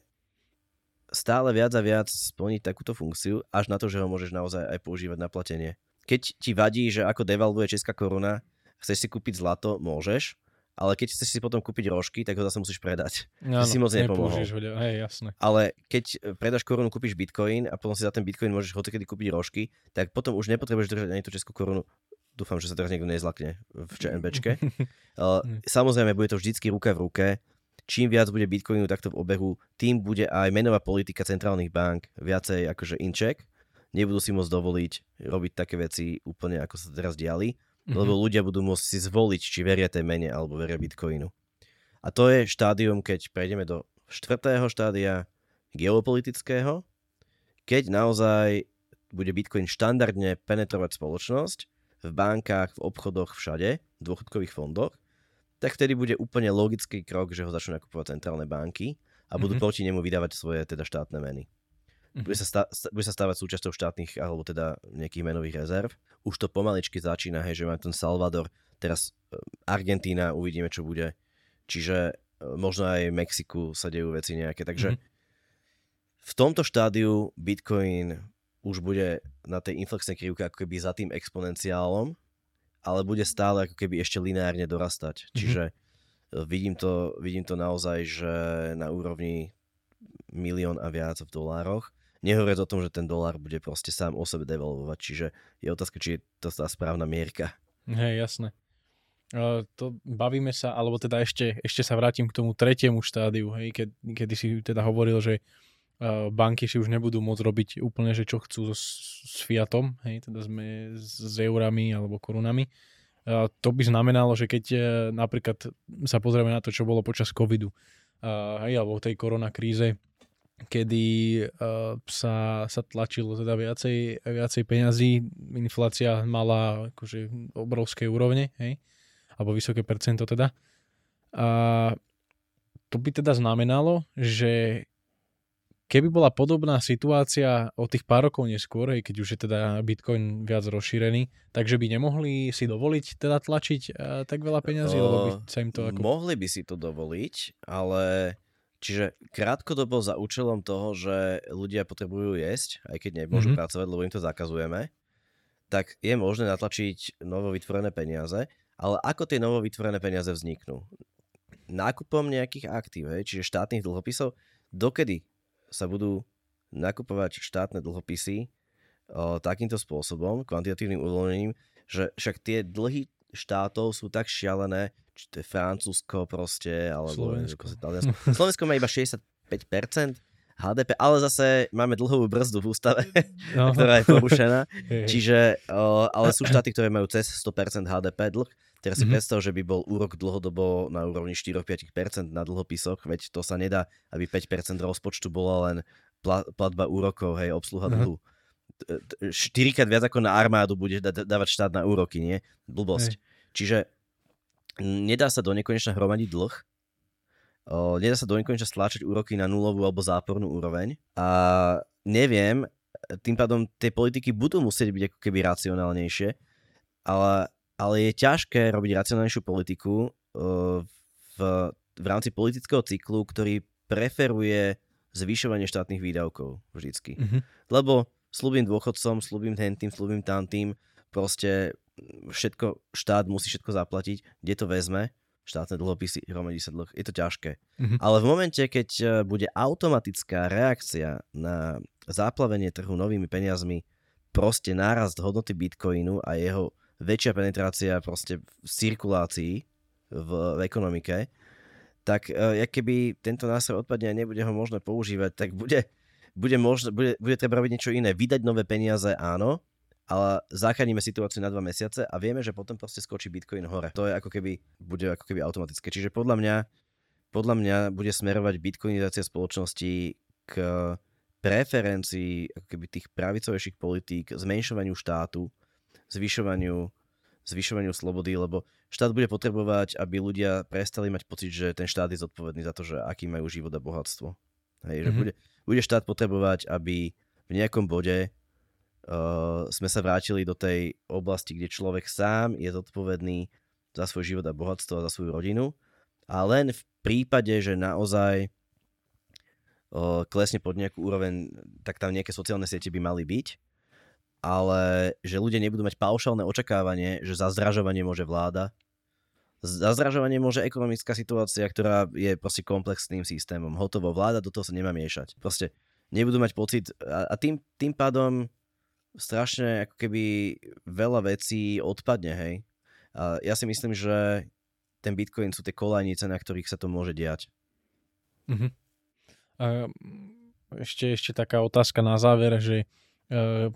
stále viac a viac splniť takúto funkciu, až na to, že ho môžeš naozaj aj používať na platenie. Keď ti vadí, že ako devalvuje česká koruna, chceš si kúpiť zlato, môžeš, ale keď chceš si potom kúpiť rožky, tak ho zase musíš predať. No, si moc nepomohol. Ho, hej, jasné. Ale keď predáš korunu, kúpiš bitcoin a potom si za ten bitcoin môžeš hocikedy kúpiť rožky, tak potom už nepotrebuješ držať ani tú českú korunu. Dúfam, že sa teraz niekto nezlakne v ČNBčke. Samozrejme, bude to vždycky ruka v ruke. Čím viac bude bitcoinu takto v obehu, tým bude aj menová politika centrálnych bank viacej akože in check. Nebudú si môcť dovoliť robiť také veci úplne ako sa teraz diali. Mm-hmm. Lebo ľudia budú môcť si zvoliť, či veria tej mene alebo veria Bitcoinu. A to je štádium, keď prejdeme do štvrtého štádia geopolitického, keď naozaj bude Bitcoin štandardne penetrovať spoločnosť v bankách, v obchodoch, všade, v dôchodkových fondoch, tak vtedy bude úplne logický krok, že ho začnú nakupovať centrálne banky a budú mm-hmm. proti nemu vydávať svoje teda štátne meny. Bude sa, stá, bude sa stávať súčasťou štátnych alebo teda nejakých menových rezerv. Už to pomaličky začína, hej, že máme ten Salvador, teraz Argentína, uvidíme, čo bude. Čiže možno aj v Mexiku sa dejú veci nejaké. Takže mm-hmm. v tomto štádiu Bitcoin už bude na tej inflexnej krivke ako keby za tým exponenciálom, ale bude stále ako keby ešte lineárne dorastať. Mm-hmm. Čiže vidím to, vidím to naozaj, že na úrovni milión a viac v dolároch. Nehovoriac o tom, že ten dolár bude proste sám o sebe devalvovať, čiže je otázka, či je to tá správna mierka. Hej, jasné. Uh, to bavíme sa, alebo teda ešte, ešte sa vrátim k tomu tretiemu štádiu, hej, keď, kedy si teda hovoril, že uh, banky si už nebudú môcť robiť úplne, že čo chcú so, s fiatom, hej, teda sme s eurami alebo korunami. Uh, to by znamenalo, že keď uh, napríklad sa pozrieme na to, čo bolo počas covidu, uh, hej, alebo tej koronakríze, kedy uh, sa, sa tlačilo teda viacej, viacej peňazí, inflácia mala akože obrovské úrovne, hej, alebo vysoké percento teda. A to by teda znamenalo, že keby bola podobná situácia o tých pár rokov neskôr, hej, keď už je teda Bitcoin viac rozšírený, takže by nemohli si dovoliť teda tlačiť uh, tak veľa peňazí, uh, lebo by sa im to ako... Mohli by si to dovoliť, ale... Čiže krátkodobo za účelom toho, že ľudia potrebujú jesť, aj keď nemôžu mm-hmm. pracovať, lebo im to zakazujeme, tak je možné natlačiť novovytvorené peniaze, ale ako tie novovytvorené peniaze vzniknú? Nákupom nejakých aktív, hej, čiže štátnych dlhopisov, dokedy sa budú nakupovať štátne dlhopisy o, takýmto spôsobom, kvantitatívnym uvoľnením, že však tie dlhy štátov sú tak šialené, či to je Francúzsko proste, alebo Slovensko. Slovensko má iba šesťdesiatpäť percent há dé pé, ale zase máme dlhovú brzdu v ústave, no. ktorá je porušená. Čiže, o, ale sú štáty, ktoré majú cez sto percent há dé pé dlh. Teraz si mm-hmm. predstav, že by bol úrok dlhodobo na úrovni štyri až päť percent na dlhopisoch, veď to sa nedá, aby päť percent rozpočtu bola len platba úrokov, hej, obsluha dlhu. štyrikrát viac ako na armádu bude dávať štát na úroky, nie? Blbosť. Hej. Čiže nedá sa do nekonečna hromadiť dlh, o, nedá sa do nekonečna stláčať úroky na nulovú alebo zápornú úroveň a neviem, tým pádom tie politiky budú musieť byť ako keby racionálnejšie, ale, ale je ťažké robiť racionálnejšiu politiku o, v, v rámci politického cyklu, ktorý preferuje zvyšovanie štátnych výdavkov vždycky. Mm-hmm. Lebo slúbim dôchodcom, slúbim hentým, slúbim tamtým, proste všetko, štát musí všetko zaplatiť, kde to vezme, štátne dlhopisy, hromadí sa dlh, je to ťažké. Mm-hmm. Ale v momente, keď bude automatická reakcia na záplavenie trhu novými peniazmi, proste nárast hodnoty Bitcoinu a jeho väčšia penetrácia proste v cirkulácii v, v ekonomike, tak jak keby tento nástroj odpadne a nebude ho možné používať, tak bude, bude, možné, bude, bude treba robiť niečo iné. Vydať nové peniaze, áno, ale zachránime situáciu na dva mesiace a vieme, že potom proste skočí Bitcoin hore. To je ako keby, bude ako keby automatické. Čiže podľa mňa, podľa mňa bude smerovať bitcoinizácia spoločnosti k preferencii ako keby tých pravicovejších politík, zmenšovaniu štátu, zvyšovaniu, zvyšovaniu slobody, lebo štát bude potrebovať, aby ľudia prestali mať pocit, že ten štát je zodpovedný za to, že aký majú život a bohatstvo. Hej, mm-hmm. že bude, bude štát potrebovať, aby v nejakom bode uh, sme sa vrátili do tej oblasti, kde človek sám je zodpovedný za svoj život a bohatstvo a za svoju rodinu. A len v prípade, že naozaj uh, klesne pod nejakú úroveň, tak tam nejaké sociálne siete by mali byť. Ale že ľudia nebudú mať paušálne očakávanie, že za zdražovanie môže vláda. Za zdražovanie môže ekonomická situácia, ktorá je proste komplexným systémom. Hotovo, vláda do toho sa nemá miešať. Proste nebudú mať pocit a, a tým, tým pádom strašne ako keby veľa vecí odpadne, hej. A ja si myslím, že ten Bitcoin sú tie kolajnice, na ktorých sa to môže diať. Uh-huh. A ešte, ešte taká otázka na záver, že uh,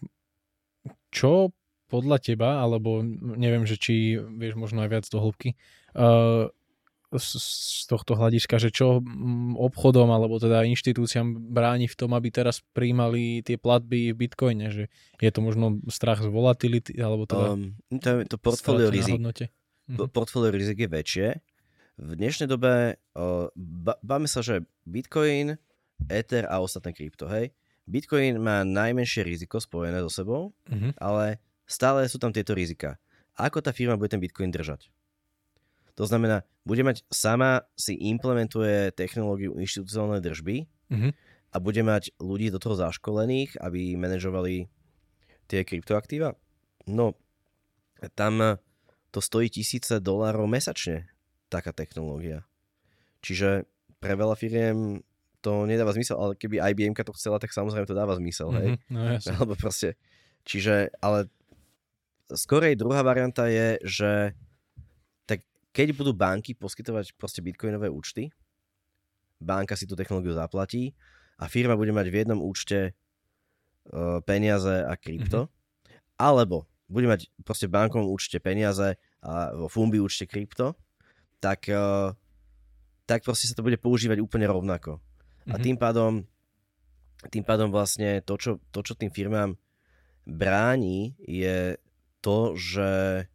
čo podľa teba, alebo neviem, že či vieš možno aj viac do hĺbky, uh, z, z tohto hľadiska, že čo obchodom alebo teda inštitúciám bráni v tom, aby teraz prijímali tie platby v Bitcoine, že je to možno strach z volatility, alebo teda um, to, to portfólio rizik. Mhm. Portfólio rizik je väčšie. V dnešnej dobe uh, báme sa, že Bitcoin, Ether a ostatné krypto, hej. Bitcoin má najmenšie riziko spojené so sebou, uh-huh. ale stále sú tam tieto rizika. Ako tá firma bude ten Bitcoin držať? To znamená, bude mať sama si implementuje technológiu inštitucionálnej držby uh-huh. a bude mať ľudí do toho zaškolených, aby manažovali tie kryptoaktíva. No, tam to stojí tisíce dolárov mesačne, taká technológia. Čiže pre veľa firiem to nedáva zmysel, ale keby í bí emka to chcela, tak samozrejme to dáva zmysel, hej? Mm-hmm, no jasne. Alebo proste, čiže, ale skorej druhá varianta je, že tak keď budú banky poskytovať proste bitcoinové účty, banka si tú technológiu zaplatí a firma bude mať v jednom účte uh, peniaze a krypto, mm-hmm. alebo bude mať proste v bankovom účte peniaze a vo Fumbi účte krypto, tak, uh, tak proste sa to bude používať úplne rovnako. A tým pádom, tým pádom vlastne to čo, to, čo tým firmám bráni, je to, že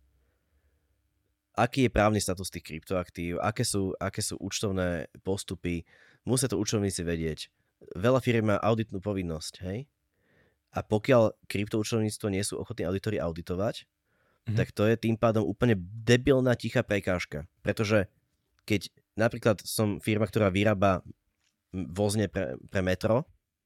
aký je právny status tých kryptoaktív, aké sú, aké sú účtovné postupy, musia to účtovníci vedieť. Veľa firm má auditnú povinnosť, hej? A pokiaľ kryptoúčtovníctvo nie sú ochotní auditori auditovať, mm-hmm. tak to je tým pádom úplne debilná tichá prekážka. Pretože keď napríklad som firma, ktorá vyrába vozne pre, pre metro.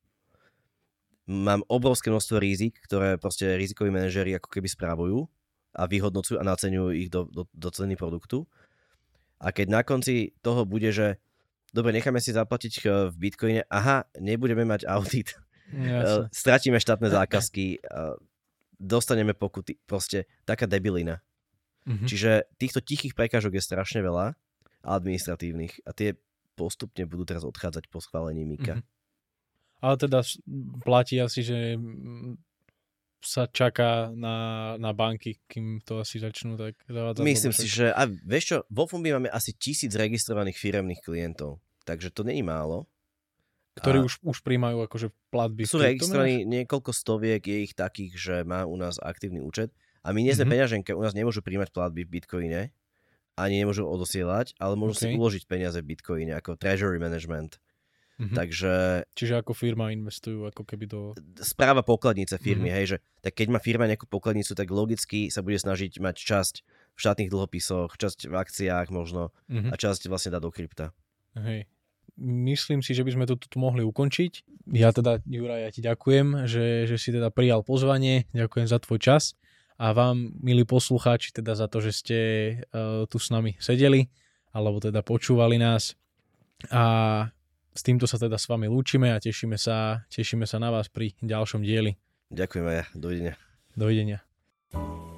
Mám obrovské množstvo rizik, ktoré proste rizikoví manažéri ako keby správujú a vyhodnocujú a naceňujú ich do, do, do ceny produktu. A keď na konci toho bude, že dobre, necháme si zaplatiť v Bitcoine, aha, nebudeme mať audit, Jasne. Stratíme štátne zákazky, dostaneme pokuty, proste taká debilina. Mm-hmm. Čiže týchto tichých prekážok je strašne veľa, administratívnych, a tie postupne budú teraz odchádzať po schválení Mika. Mm-hmm. Ale teda platí asi, že sa čaká na, na banky, kým to asi začnú tak zavádzať. Myslím si, že a vieš čo, vo Fumbi máme asi tisíc registrovaných firemných klientov, takže to není málo. Ktorí a už, už príjmajú akože platby. Sú registrovaní niekoľko stoviek, je ich takých, že má u nás aktívny účet a my nie sme mm-hmm. peňaženke, u nás nemôžu príjmať platby v Bitcoine, ani nemôžu odosielať, ale môžu okay. si uložiť peniaze v Bitcoine ako treasury management. Mm-hmm. Takže... Čiže ako firma investujú ako keby do... Správa pokladnice firmy, mm-hmm. hej, že tak keď má firma nejakú pokladnicu, tak logicky sa bude snažiť mať časť v štátnych dlhopisoch, časť v akciách možno mm-hmm. a časť vlastne dá do krypta. Hej. Myslím si, že by sme to tu mohli ukončiť. Ja teda, Juraj, ja ti ďakujem, že, že si teda prijal pozvanie, ďakujem za tvoj čas a vám, milí poslucháči, teda za to, že ste uh, tu s nami sedeli, alebo teda počúvali nás a s týmto sa teda s vami lúčime a tešíme sa, tešíme sa na vás pri ďalšom dieli. Ďakujem aj ja, dovidenia. Dovidenia.